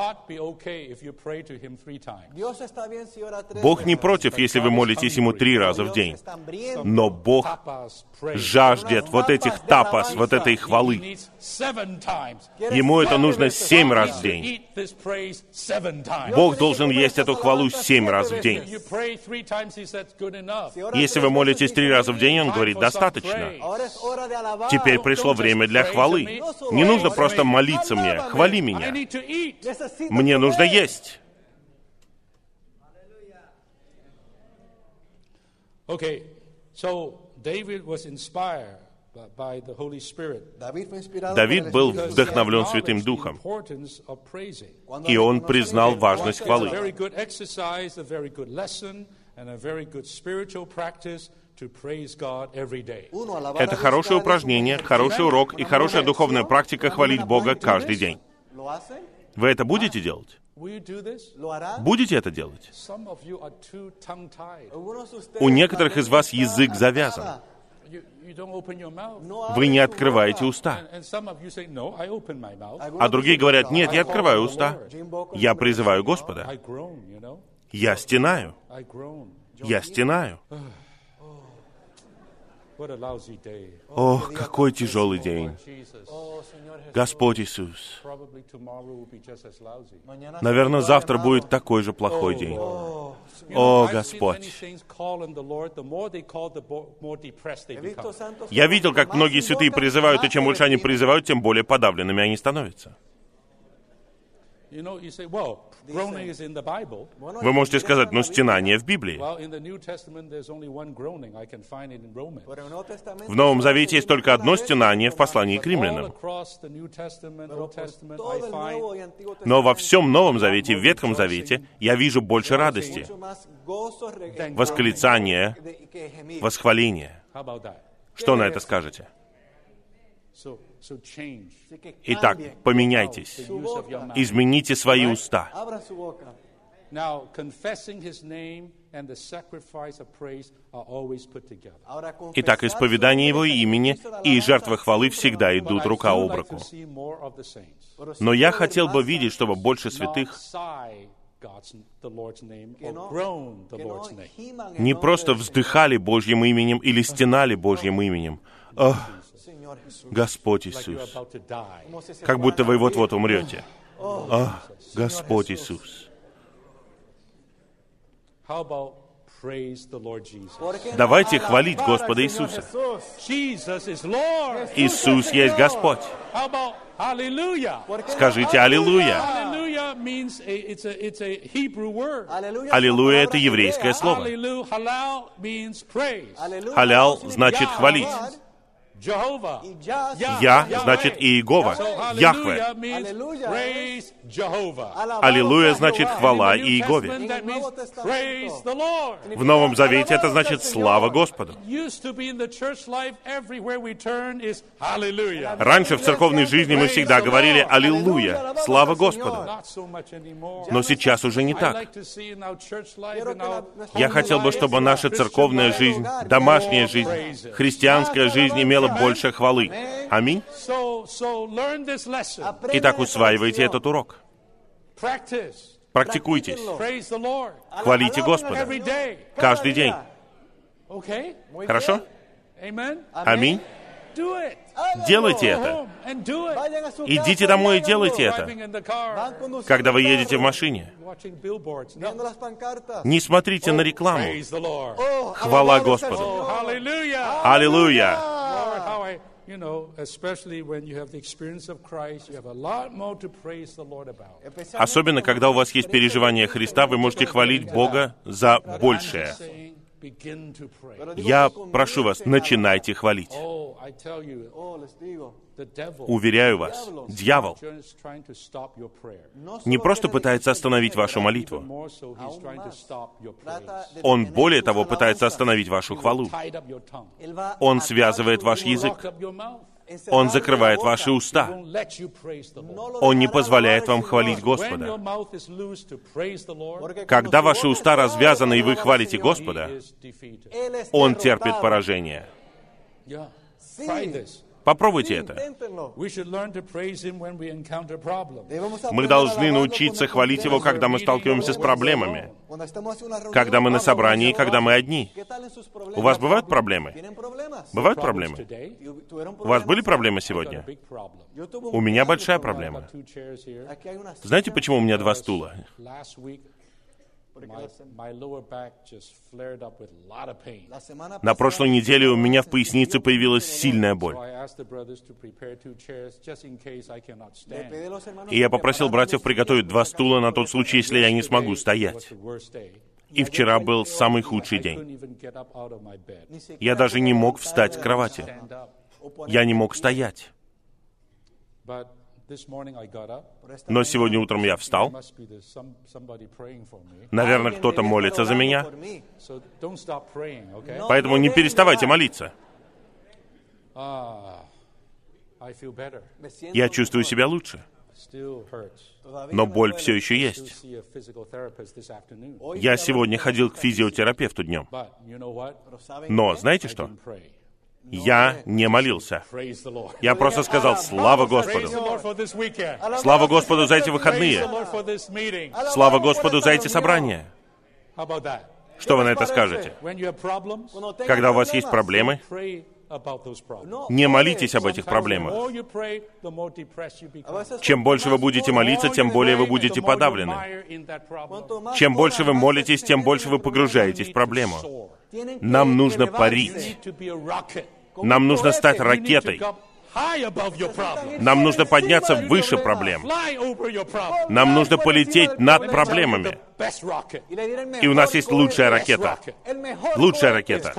Бог не против, если вы молитесь Ему 3 раза в день. Но Бог жаждет вот этих тапас, вот этой хвалы. Ему это нужно 7 раз в день. Бог должен есть эту хвалу 7 раз в день. Если вы молитесь 3 раза в день, Он говорит, достаточно. Теперь пришло время для хвалы. Не нужно просто молиться мне, хвали меня. Мне нужно есть. Давид был вдохновлен Святым Духом, и он признал важность хвалы. Это хорошее упражнение, хороший урок и хорошая духовная практика хвалить Бога каждый день. Вы это будете делать? Будете это делать? У некоторых из вас язык завязан. Вы не открываете уста. А другие говорят, нет, я открываю уста. Я призываю Господа. Я стенаю. Я стенаю. Ох, какой тяжелый день. Господь Иисус. Наверное, завтра будет такой же плохой день. О, Господь. Я видел, как многие святые призывают, и чем больше они призывают, тем более подавленными они становятся. Вы можете сказать, но стенание в Библии. В Новом Завете есть только одно стенание в послании к римлянам. Но во всем Новом Завете, в Ветхом Завете, я вижу больше радости, восклицания, восхваления. Что на это скажете? Итак, поменяйтесь, измените свои уста. Now, confessing His name and the sacrifice of praise are always put together. Итак, исповедание Его имени и жертва хвалы всегда идут рука об руку. Но я хотел бы видеть, чтобы больше святых не просто вздыхали Божьим именем или стенали Божьим именем. «Ох, Господь Иисус!» Как будто вы вот-вот умрете. «Ох, Господь Иисус!» Давайте хвалить Господа Иисуса. Иисус есть Господь. Скажите «Аллилуйя». «Аллилуйя» — это еврейское слово. «Халал» значит «хвалить». «Я» значит «Иегова», «Яхве». «Аллилуйя» значит «хвала Иегове». В Новом Завете это значит «слава Господу». Раньше в церковной жизни мы всегда говорили «Аллилуйя», «слава Господу». Но сейчас уже не так. Я хотел бы, чтобы наша церковная жизнь, домашняя жизнь, христианская жизнь имела больше хвалы. Аминь. Итак, усваивайте этот урок. Практикуйтесь. Хвалите Господа. Каждый день. Хорошо? Аминь. Делайте это. Идите домой и делайте это. Когда вы едете в машине, не смотрите на рекламу. Хвала Господу. Аллилуйя. Особенно, когда у вас есть переживание Христа, вы можете хвалить Бога за большее. Я прошу вас, начинайте хвалить. Уверяю вас, дьявол не просто пытается остановить вашу молитву. Он, более того, пытается остановить вашу хвалу. Он связывает ваш язык. Он закрывает ваши уста. Он не позволяет вам хвалить Господа. Когда ваши уста развязаны и вы хвалите Господа, Он терпит поражение. Попробуйте это. Мы должны научиться хвалить Его, когда мы сталкиваемся с проблемами, когда мы на собрании, когда мы одни. У вас бывают проблемы? Бывают проблемы? У вас были проблемы сегодня? У меня большая проблема. Знаете, почему у меня 2 стула? На прошлой неделе у меня в пояснице появилась сильная боль. И я попросил братьев приготовить 2 стула на тот случай, если я не смогу стоять. И вчера был самый худший день. Я даже не мог встать с кровати. Я не мог стоять. Но сегодня утром я встал. Наверное, кто-то молится за меня. Поэтому не переставайте молиться. Я чувствую себя лучше. Но боль все еще есть. Я сегодня ходил к физиотерапевту днем. Но знаете что? Я не молился. Я просто сказал «Слава Господу». Слава Господу за эти выходные. Слава Господу за эти собрания. Что вы на это скажете? Когда у вас есть проблемы, не молитесь об этих проблемах. Чем больше вы будете молиться, тем более вы будете подавлены. Чем больше вы молитесь, тем больше вы погружаетесь в проблему. Нам нужно парить. Нам нужно стать ракетой. Нам нужно подняться выше проблем. Нам нужно полететь над проблемами. И у нас есть лучшая ракета. Лучшая ракета.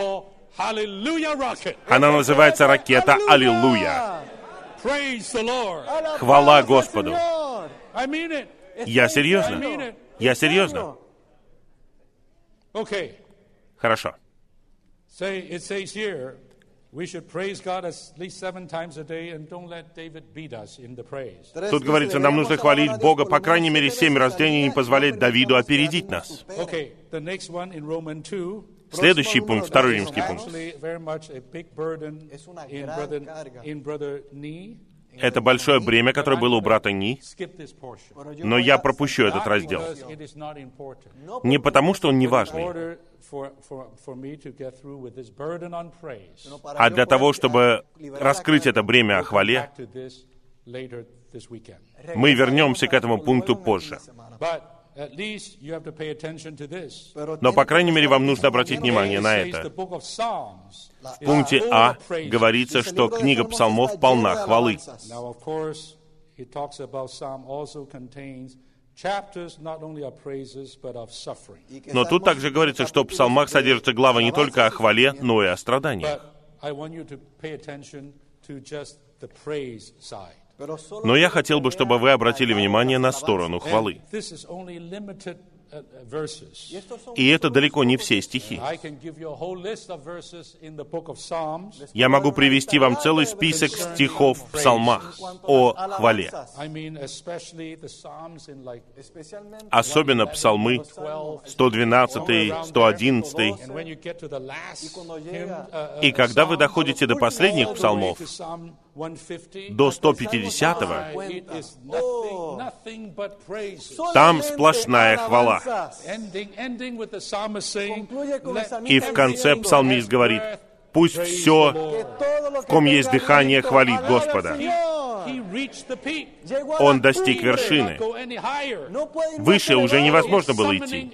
Она называется ракета «Аллилуйя». Хвала Господу. Я серьезно. Я серьезно. Хорошо. Тут говорится, нам нужно хвалить Бога, по крайней мере, 7 раз в день и не позволять Давиду опередить нас. Следующий пункт, второй римский пункт. Это большое бремя, которое было у брата Ни, но я пропущу этот раздел. Не потому, что он не важный, а для того, чтобы раскрыть это бремя о хвале. Мы вернемся к этому пункту позже. Но, по крайней мере, вам нужно обратить внимание на это. В пункте А говорится, что книга псалмов полна хвалы. Но тут также говорится, что в псалмах содержатся главы не только о хвале, но и о страданиях. Но я хотел бы, чтобы вы обратили внимание на сторону хвалы. И это далеко не все стихи. Я могу привести вам целый список стихов в псалмах о хвале. Особенно псалмы 112, 111. И когда вы доходите до последних псалмов, до 150-го, там сплошная хвала. И в конце псалмист говорит, пусть все, в ком есть дыхание, хвалит Господа. Он достиг вершины. Выше уже невозможно было идти.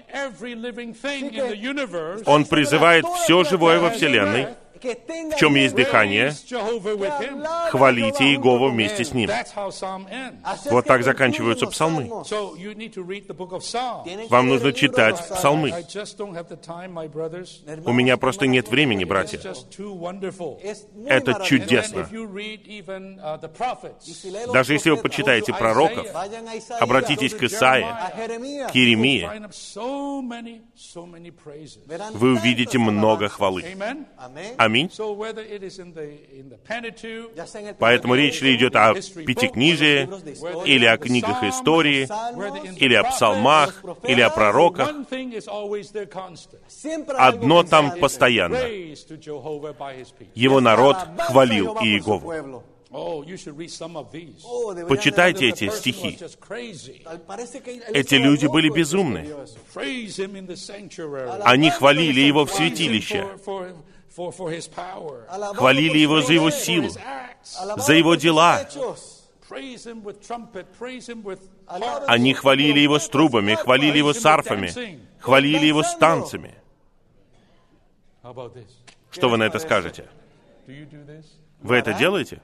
Он призывает все живое во Вселенной, в чем есть дыхание, хвалите Иегову вместе с ним. Вот так заканчиваются псалмы. Вам нужно читать псалмы. У меня просто нет времени, братья. Это чудесно. Даже если вы почитаете пророков, обратитесь к Исаии, к Иеремии, вы увидите много хвалы. Аминь. Поэтому речь ли идет о Пятикнижии, или о книгах истории, или о псалмах, или о пророках. Одно там постоянно. Его народ хвалил Иегову. Почитайте эти стихи. Эти люди были безумны. Они хвалили Его в святилище. Хвалили Его за Его силу, за Его дела. Они хвалили Его с трубами, хвалили Его с арфами, хвалили Его с танцами. Что вы на это скажете? Вы это делаете?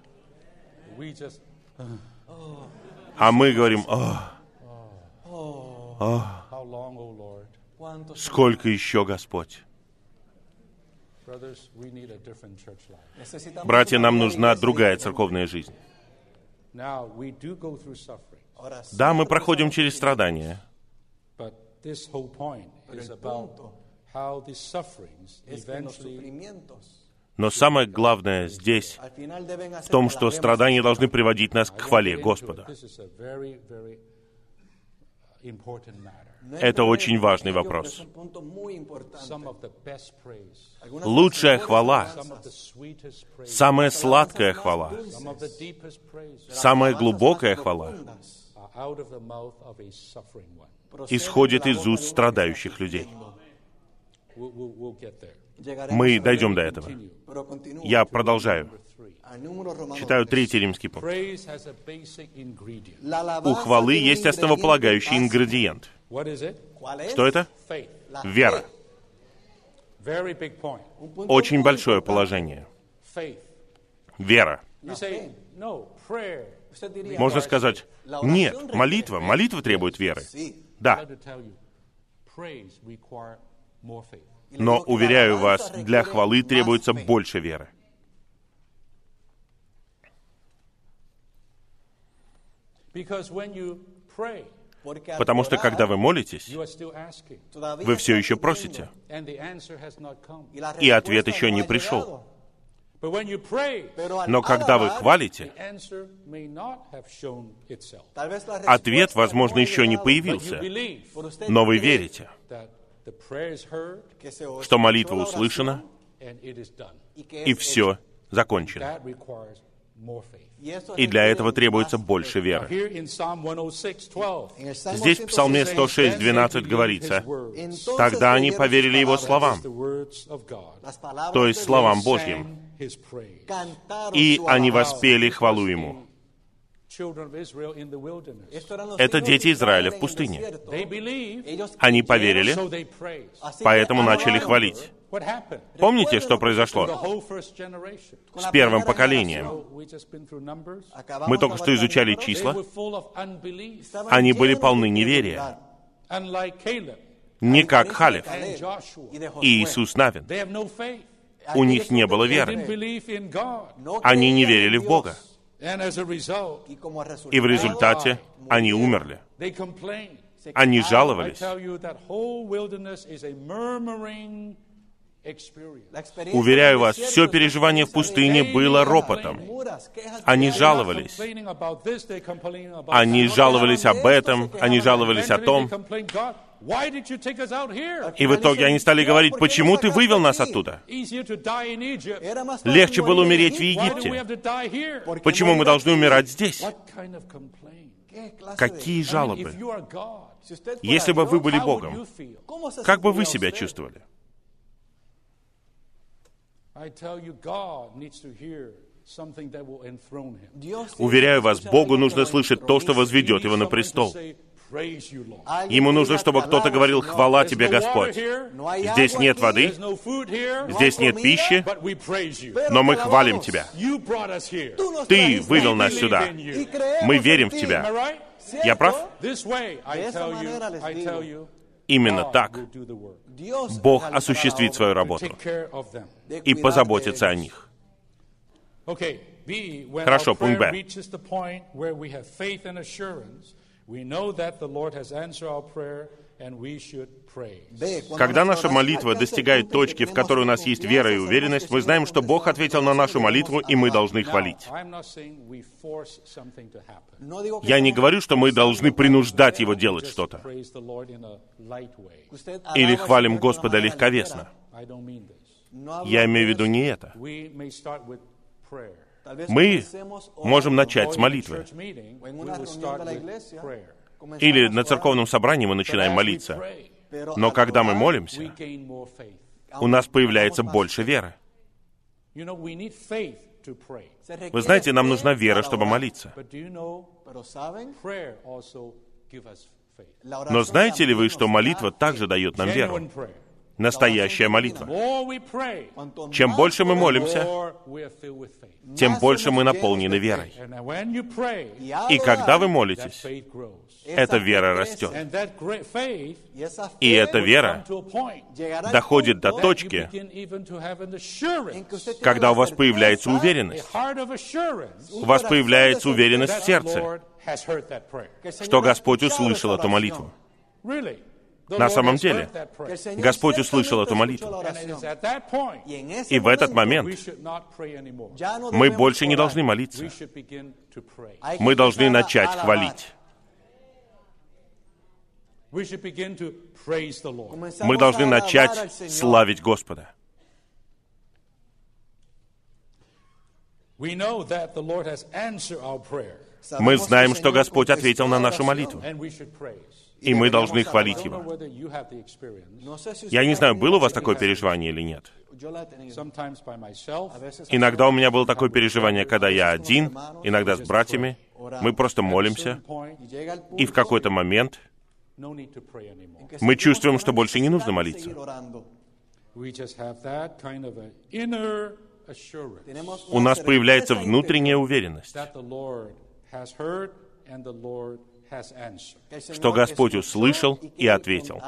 А мы говорим, сколько еще, Господь? Братья, нам нужна другая церковная жизнь. Да, мы проходим через страдания. Но самое главное здесь в том, что страдания должны приводить нас к хвале Господа. Это очень важный вопрос. Лучшая хвала, самая сладкая хвала, самая глубокая хвала исходит из уст страдающих людей. Мы дойдем до этого. Я продолжаю. Читаю 3 римский пункт. У хвалы есть основополагающий ингредиент. Что это? Вера. Очень большое положение. Вера. Можно сказать, нет, молитва требует веры. Да. Но, уверяю вас, для хвалы требуется больше веры. Потому что, когда вы молитесь, вы все еще просите, и ответ еще не пришел. Но когда вы хвалите, ответ, возможно, еще не появился, но вы верите, что молитва услышана, и все закончено. И для этого требуется больше веры. Здесь в Псалме 106:12 говорится: «Тогда они поверили Его словам», то есть словам Божьим, и они воспели хвалу Ему. Это дети Израиля в пустыне. Они поверили, поэтому начали хвалить. Помните, что произошло с первым поколением? Мы только что изучали числа. Они были полны неверия. Не как Халев и Иисус Навин. У них не было веры. Они не верили в Бога. И в результате они умерли. Они жаловались. Уверяю вас, все переживание в пустыне было ропотом. Они жаловались. Они жаловались об этом, они жаловались о том. И в итоге они стали говорить: «Почему ты вывел нас оттуда? Легче было умереть в Египте. Почему мы должны умирать здесь?» Какие жалобы! Если бы вы были Богом, как бы вы себя чувствовали? Уверяю вас, Богу нужно слышать то, что возведет Его на престол. Ему нужно, чтобы кто-то говорил: «Хвала Тебе, Господь». Здесь нет воды, здесь нет пищи, но мы хвалим Тебя. Ты вывел нас сюда. Мы верим в Тебя. Я прав? Именно так Бог осуществит свою работу и позаботится о них. Хорошо, пункт Б. Когда наша молитва достигает точки, в которой у нас есть вера и уверенность, мы знаем, что Бог ответил на нашу молитву, и мы должны хвалить. Я не говорю, что мы должны принуждать Его делать что-то. Или хвалим Господа легковесно. Я имею в виду не это. Мы можем начать с молитвы. Или на церковном собрании мы начинаем молиться. Но когда мы молимся, у нас появляется больше веры. Вы знаете, нам нужна вера, чтобы молиться. Но знаете ли вы, что молитва также дает нам веру? Настоящая молитва. Чем больше мы молимся, тем больше мы наполнены верой. И когда вы молитесь, эта вера растет. И эта вера доходит до точки, когда у вас появляется уверенность. У вас появляется уверенность в сердце, что Господь услышал эту молитву. На самом деле, Господь услышал эту молитву. И в этот момент мы больше не должны молиться. Мы должны начать хвалить. Мы должны начать славить Господа. Мы знаем, что Господь ответил на нашу молитву. И мы должны хвалить Его. Я не знаю, было у вас такое переживание или нет. Иногда у меня было такое переживание, когда я один, иногда с братьями. Мы просто молимся, и в какой-то момент мы чувствуем, что больше не нужно молиться. У нас появляется внутренняя уверенность, что Господь услышал и ответил.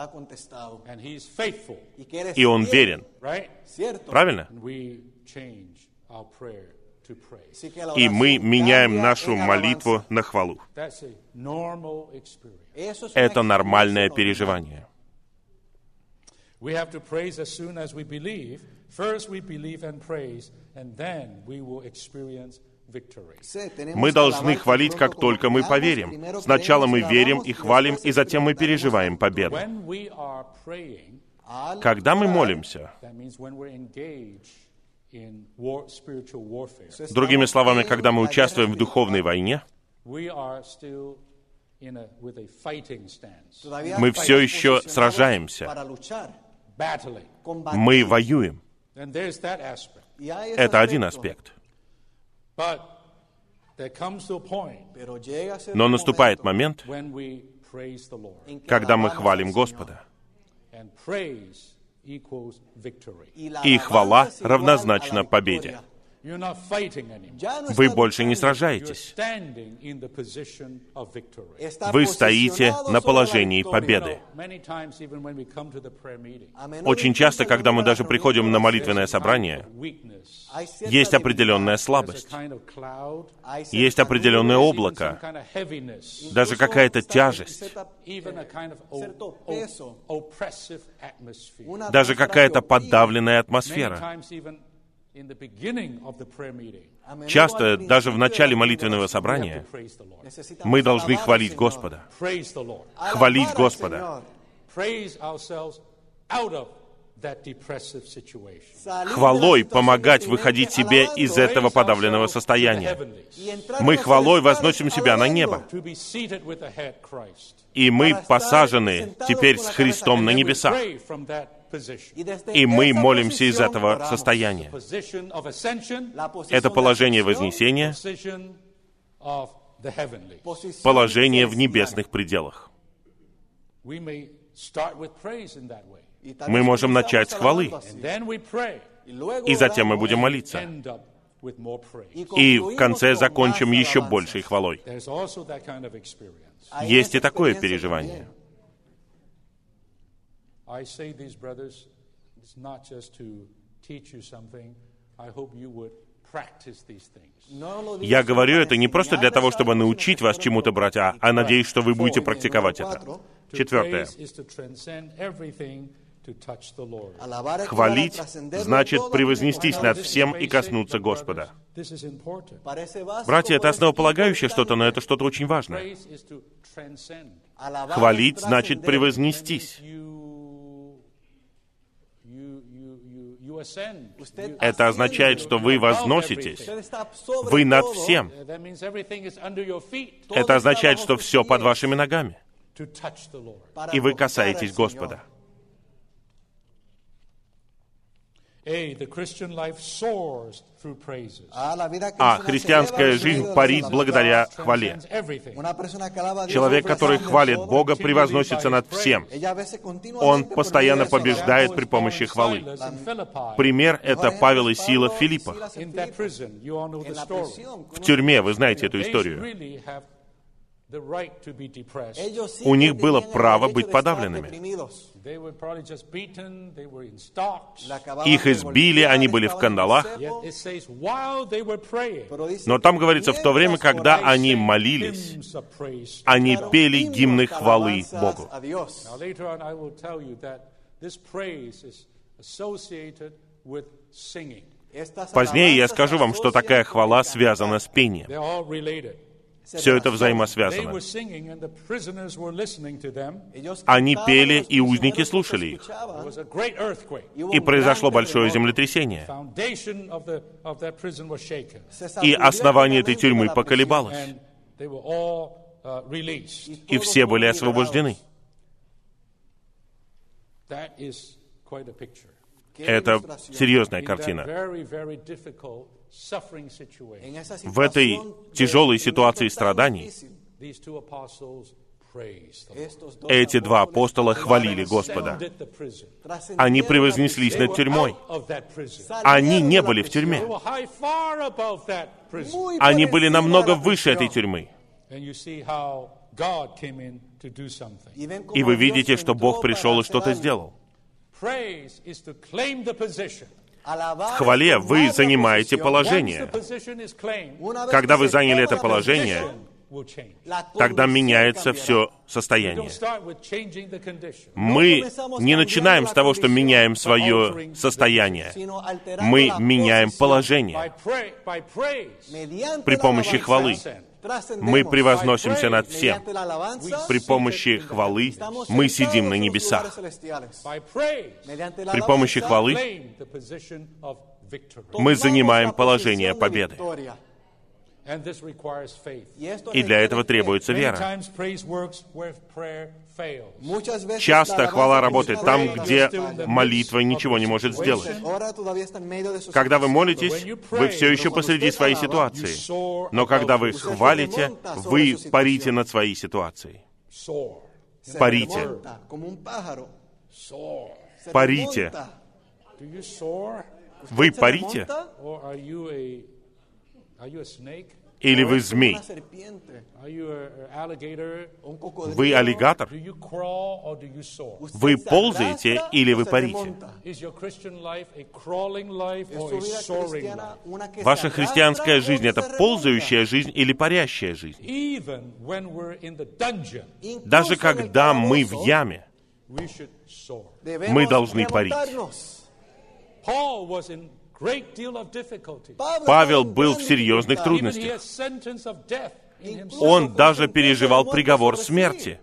И Он верен. Правильно? И мы меняем нашу молитву на хвалу. Это нормальное переживание. We have to praise as soon as we believe. First we believe and praise, and then we will experience victory. Мы должны хвалить, как только мы поверим. Сначала мы верим и хвалим, и затем мы переживаем победу. When we are praying, Когда мы молимся, that means when we're engaged in spiritual warfare, другими словами, когда мы участвуем в духовной войне, we are still with a fighting stance, мы все еще сражаемся, battling. мы воюем. And there's that aspect. Это один аспект. But there comes to a point Но наступает момент, when we praise the Lord. когда мы хвалим Господа. And praise equals victory. И хвала равнозначна победе. You're not fighting anymore. Вы больше не You're сражаетесь. standing in the position of victory. Вы стоите на положении победы. Many times, even when we come to the prayer meeting, Очень часто, когда мы даже приходим на молитвенное собрание, weakness, есть определенная there's a слабость, kind of cloud, есть определенное even some облако, kind of heaviness, даже какая-то тяжесть, even a kind of oppressive atmosphere. даже какая-то подавленная Many атмосфера. times, even in the beginning of the prayer meeting, Часто, даже в начале молитвенного we have to собрания, praise the Lord. мы должны хвалить Господа. Praise the Lord. Хвалить Господа. Praise ourselves out of that depressive situation. Хвалой помогать выходить себе из этого подавленного состояния. Мы хвалой возносим себя на небо. To be seated with the head Christ. И мы посажены теперь с Христом на небесах. Pray from that position. И мы молимся из этого состояния. Position of ascension, Это положение вознесения, position of the heavenly. положение в небесных пределах. We may start with praise in that way. Мы можем начать с хвалы, And then we pray. и затем мы будем молиться. End up with more praise. И в конце закончим еще большей хвалой. There's also that kind of experience. Есть и такое переживание. I say these, brothers, it's not just to teach you something. I hope you would practice these things. Я говорю это не просто для того, чтобы научить вас чему-то, братья, а надеюсь, что вы будете практиковать это. Четвертое. Praise is to transcend everything to touch the Lord. Хвалить значит превознестись над всем и коснуться Господа. This is important. Братья, это основополагающее что-то, но это что-то очень важное. Praise is to transcend. Хвалить значит превознестись. You ascend. Это означает, что вы возноситесь. Вы над всем. That means everything is under your feet Это означает, что все под вашими ногами. to touch the Lord. И вы касаетесь Господа. The Christian life soars through praises. Христианская жизнь парит благодаря хвале. Transcends everything. Человек, который хвалит Бога, превозносится над всем. Он постоянно побеждает при помощи хвалы. In Philippi, Пример — это Павел и Сила в Филиппах. in that prison, you all know the story. В тюрьме, вы знаете эту They историю. really have the right to be depressed. У них было право быть подавленными. They were probably just beaten, they were in stocks. Их избили, они были в кандалах. Yet it says, while they were praying, Но там говорится, в то время, когда они молились, hymns of praise. они пели гимны хвалы Богу. Now later on I will tell you that this praise is associated with singing. Позднее я скажу вам, что такая хвала связана с пением. They're all related. Все это They взаимосвязано. were singing and the prisoners were listening to them. Они пели, и узники слушали их. There was a great earthquake. И произошло большое землетрясение. Foundation of that prison was shaken. И основание этой тюрьмы поколебалось. And they were all released. И все были освобождены. That is quite a picture. Это серьезная In that картина. very, very difficult suffering situation, В этой тяжелой ситуации страданий these two apostles praised the Lord. эти два апостола хвалили Господа. Ascended the prison. Они превознеслись They над were тюрьмой. out of that prison. Они не были в They тюрьме. were high, far above that prison. Они были намного выше этой тюрьмы. And you see how God came in to do something. И вы видите, что Бог пришел и что-то сделал. Praise is to claim the position. В хвале вы занимаете Once the положение. position is claimed, Когда вы заняли это положение, will change. тогда меняется все состояние. Мы не начинаем с того, что меняем свое состояние. Мы меняем положение при помощи хвалы. Мы превозносимся над всем. При помощи хвалы мы сидим на небесах. При помощи хвалы мы занимаем положение победы. И для этого требуется вера. Часто хвала работает там, где молитва ничего не может сделать. Когда вы молитесь, вы все еще посреди своей ситуации. Но когда вы хвалите, вы парите над своей ситуацией. Парите. Парите. Вы парите? Или вы змей? Вы аллигатор? Вы ползаете или вы парите? Ваша христианская жизнь — это ползающая жизнь или парящая жизнь? Даже когда мы в яме, мы должны парить. Павел был в серьезных трудностях. Он даже переживал приговор смерти.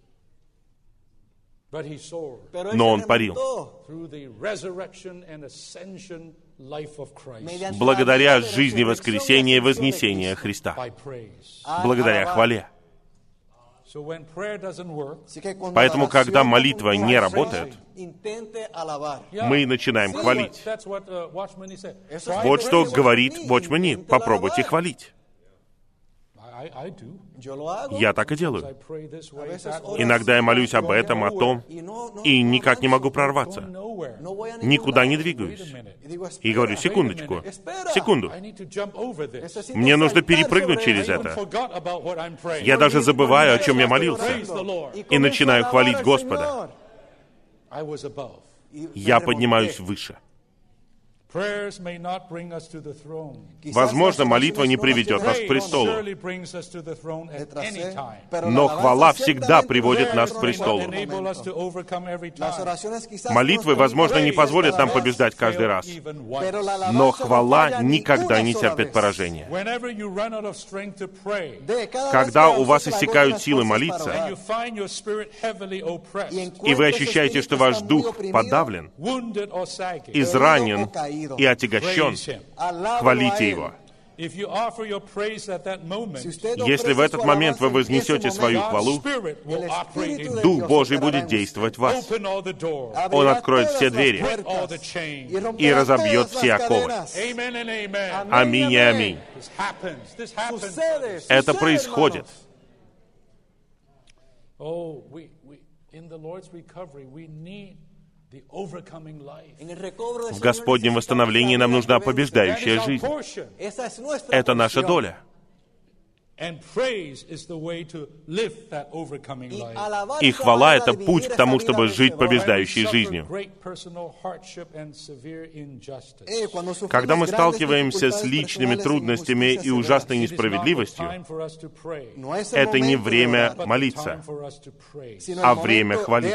Но он парил. Благодаря жизни воскресения и вознесения Христа. Благодаря хвале. Поэтому, когда молитва не работает, мы начинаем хвалить. Вот что говорит Watchman. Попробуйте хвалить. Я так и делаю. Иногда я молюсь об этом, о том, и никак не могу прорваться. Никуда не двигаюсь. И говорю: секундочку, секунду. Мне нужно перепрыгнуть через это. Я даже забываю, о чем я молился, и начинаю хвалить Господа. Я поднимаюсь выше. Возможно, молитва не приведет нас к престолу, но хвала всегда приводит нас к престолу. Молитвы, возможно, не позволят нам побеждать каждый раз, но хвала никогда не терпит поражения. Когда у вас иссякают силы молиться, и вы ощущаете, что ваш дух подавлен, изранен и отягощен, хвалите Его. Если в этот момент вы вознесете свою хвалу, Дух Божий будет действовать в вас. Он откроет все двери и разобьет все оковы. Аминь и аминь. Это происходит. В Господнем восстановлении нам нужна побеждающая жизнь. Это наша доля. И хвала — это путь к тому, чтобы жить побеждающей жизнью. Когда мы сталкиваемся с личными трудностями и ужасной несправедливостью, это не время молиться, а время хвалить.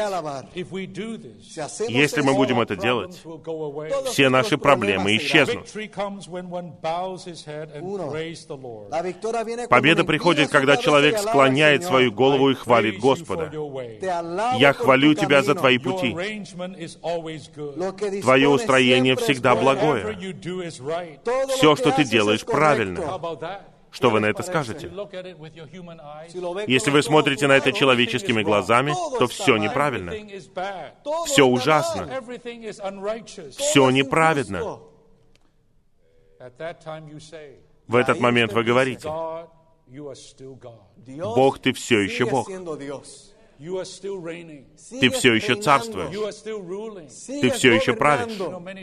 Если мы будем это делать, все наши проблемы исчезнут. Победа приходит, когда человек склоняет свою голову и хвалит Господа. «Я хвалю Тебя за Твои пути. Твое устроение всегда благое. Все, что Ты делаешь, правильно». Что вы на это скажете? Если вы смотрите на это человеческими глазами, то все неправильно. Все ужасно. Все неправедно. В этот момент вы говорите: Бог, Ты все еще Бог. Ты все еще царствуешь. Ты все еще правишь.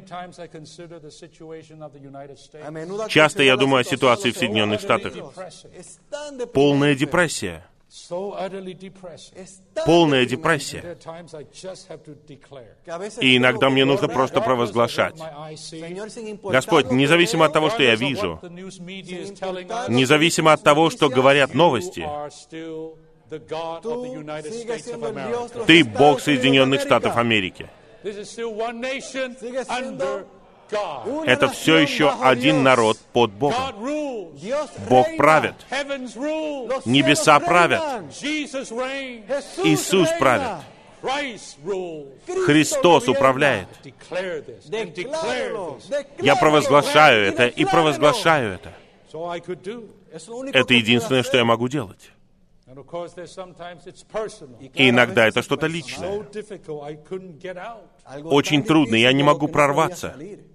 Часто я думаю о ситуации в Соединенных Штатах. Полная депрессия. Полная депрессия. И иногда мне нужно просто провозглашать: Господь, независимо от того, что я вижу, независимо от того, что говорят новости, Ты Бог Соединенных Штатов Америки. Это все еще один народ под Богом. Бог правит. Небеса правят. Иисус правит. Христос управляет. Я провозглашаю это и провозглашаю это. Это единственное, что я могу делать. И иногда это что-то личное. Очень трудно, я не могу прорваться.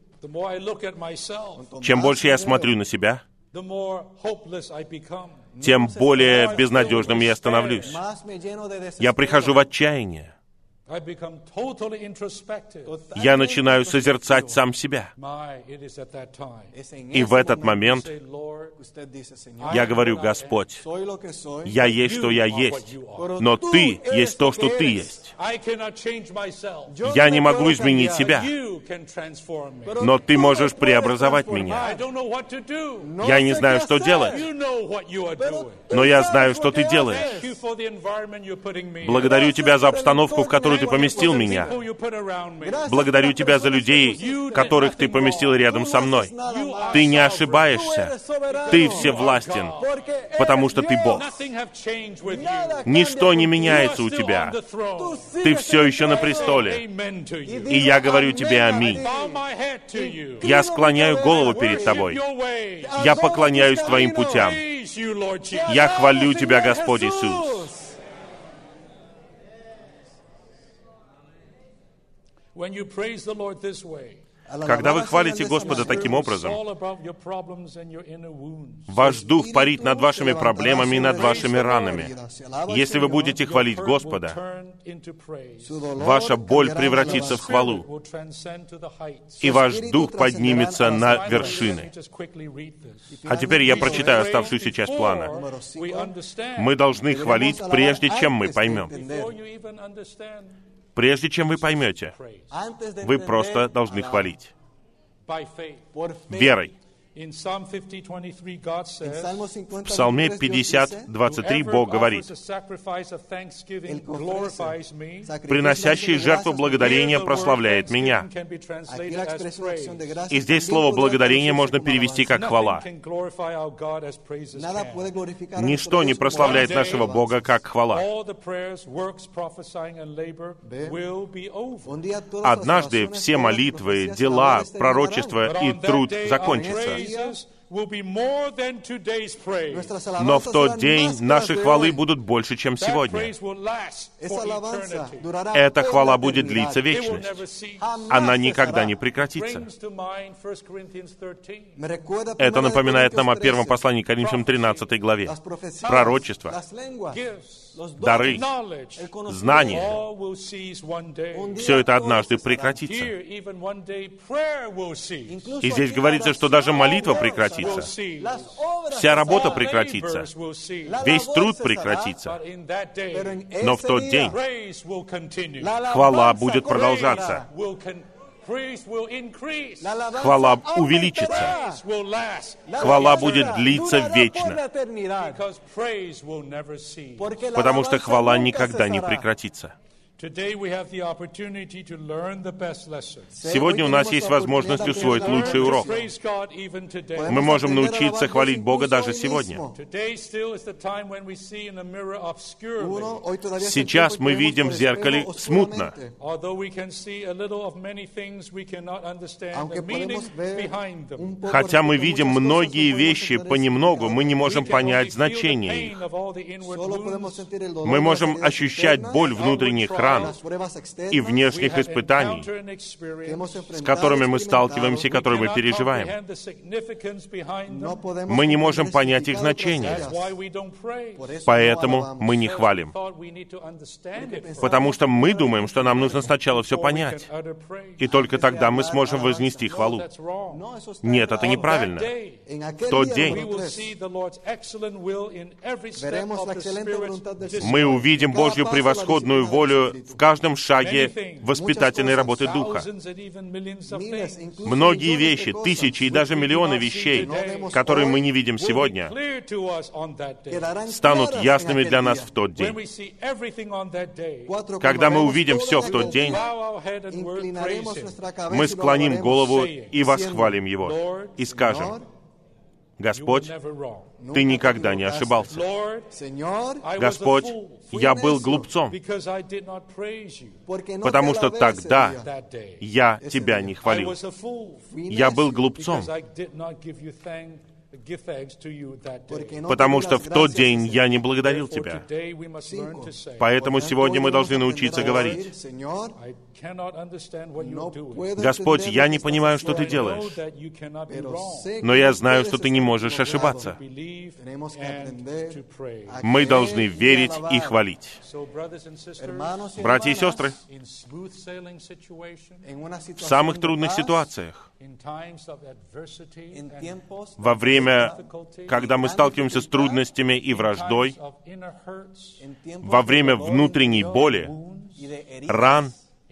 Чем больше я смотрю на себя, тем более безнадежным я становлюсь. Я прихожу в отчаяние. Я начинаю созерцать сам себя. И в этот момент я говорю: Господь, я есть, что я есть, но Ты есть то, что Ты есть. Я не могу изменить себя, но Ты можешь преобразовать меня. Я не знаю, что делать, но я знаю, что Ты делаешь. Благодарю Тебя за обстановку, в которую Ты поместил меня. Благодарю Тебя за людей, которых Ты поместил рядом со мной. Ты не ошибаешься. Ты всевластен, потому что Ты Бог. Ничто не меняется у Тебя. Ты все еще на престоле. И я говорю Тебе аминь. Я склоняю голову перед Тобой. Я поклоняюсь Твоим путям. Я хвалю Тебя, Господь Иисус. Когда вы хвалите Господа таким образом, ваш дух парит над вашими проблемами и над вашими ранами. Если вы будете хвалить Господа, ваша боль превратится в хвалу, и ваш дух поднимется на вершины. А теперь я прочитаю оставшуюся часть плана. Мы должны хвалить, прежде чем мы поймем. Прежде чем вы поймете, вы просто должны хвалить. Верой. В Псалме 50:23 Бог говорит: «Приносящий жертву благодарения прославляет меня». И здесь слово «благодарение» можно перевести как «хвала». Ничто не прославляет нашего Бога, как хвала. Однажды все молитвы, дела, пророчества и труд закончатся. Но в тот день наши хвалы будут больше, чем сегодня. Эта хвала будет длиться вечность. Она никогда не прекратится. Это напоминает нам о первом послании к Коринфянам 13 главе. Пророчество, дары, знания. Все это однажды прекратится. И здесь говорится, что даже молитва прекратится. Вся работа прекратится. Весь труд прекратится. Но в тот день хвала будет продолжаться. Хвала увеличится. Хвала будет длиться вечно. Потому что хвала никогда не прекратится. Сегодня у нас есть возможность усвоить лучший урок. Мы можем научиться хвалить Бога даже сегодня. Сейчас мы видим в зеркале смутно. Хотя мы видим многие вещи понемногу, мы не можем понять значение их. Мы можем ощущать боль внутренних ран и внешних испытаний, с которыми мы сталкиваемся и которые мы переживаем. Мы не можем понять их значение, поэтому мы не хвалим. Потому что мы думаем, что нам нужно сначала все понять, и только тогда мы сможем вознести хвалу. Нет, это неправильно. В тот день мы увидим Божью превосходную волю в каждом шаге воспитательной работы Духа. Многие вещи, тысячи и даже миллионы вещей, которые мы не видим сегодня, станут ясными для нас в тот день. Когда мы увидим все в тот день, мы склоним голову и восхвалим Его, и скажем: Господь, Ты никогда не ошибался. Господь, я был глупцом, потому что тогда я Тебя не хвалил. Я был глупцом, потому что в тот день я не благодарил Тебя. Поэтому сегодня мы должны научиться говорить: Господь, я не понимаю, что Ты делаешь, но я знаю, что Ты не можешь ошибаться. Мы должны верить и хвалить. Братья и сестры, в самых трудных ситуациях, во время, когда мы сталкиваемся с трудностями и враждой, во время внутренней боли, ран,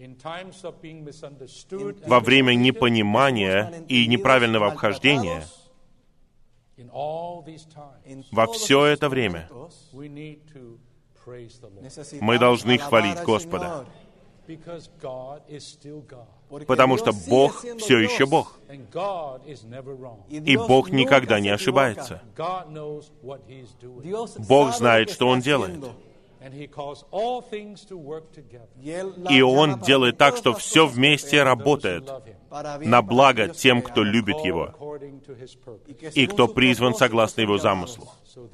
во время непонимания и неправильного обхождения, во все это время мы должны хвалить Господа, потому что Бог все еще Бог, и Бог никогда не ошибается. Бог знает, что Он делает. И Он делает так, что все вместе работает на благо тем, кто любит Его, и кто призван согласно Его замыслу.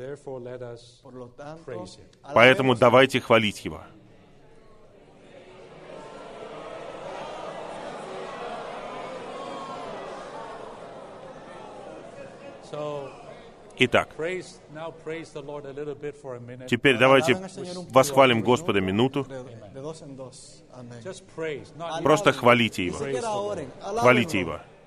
Поэтому давайте хвалить Его. Итак, теперь давайте восхвалим Господа минуту. Просто хвалите Его. Хвалите Его.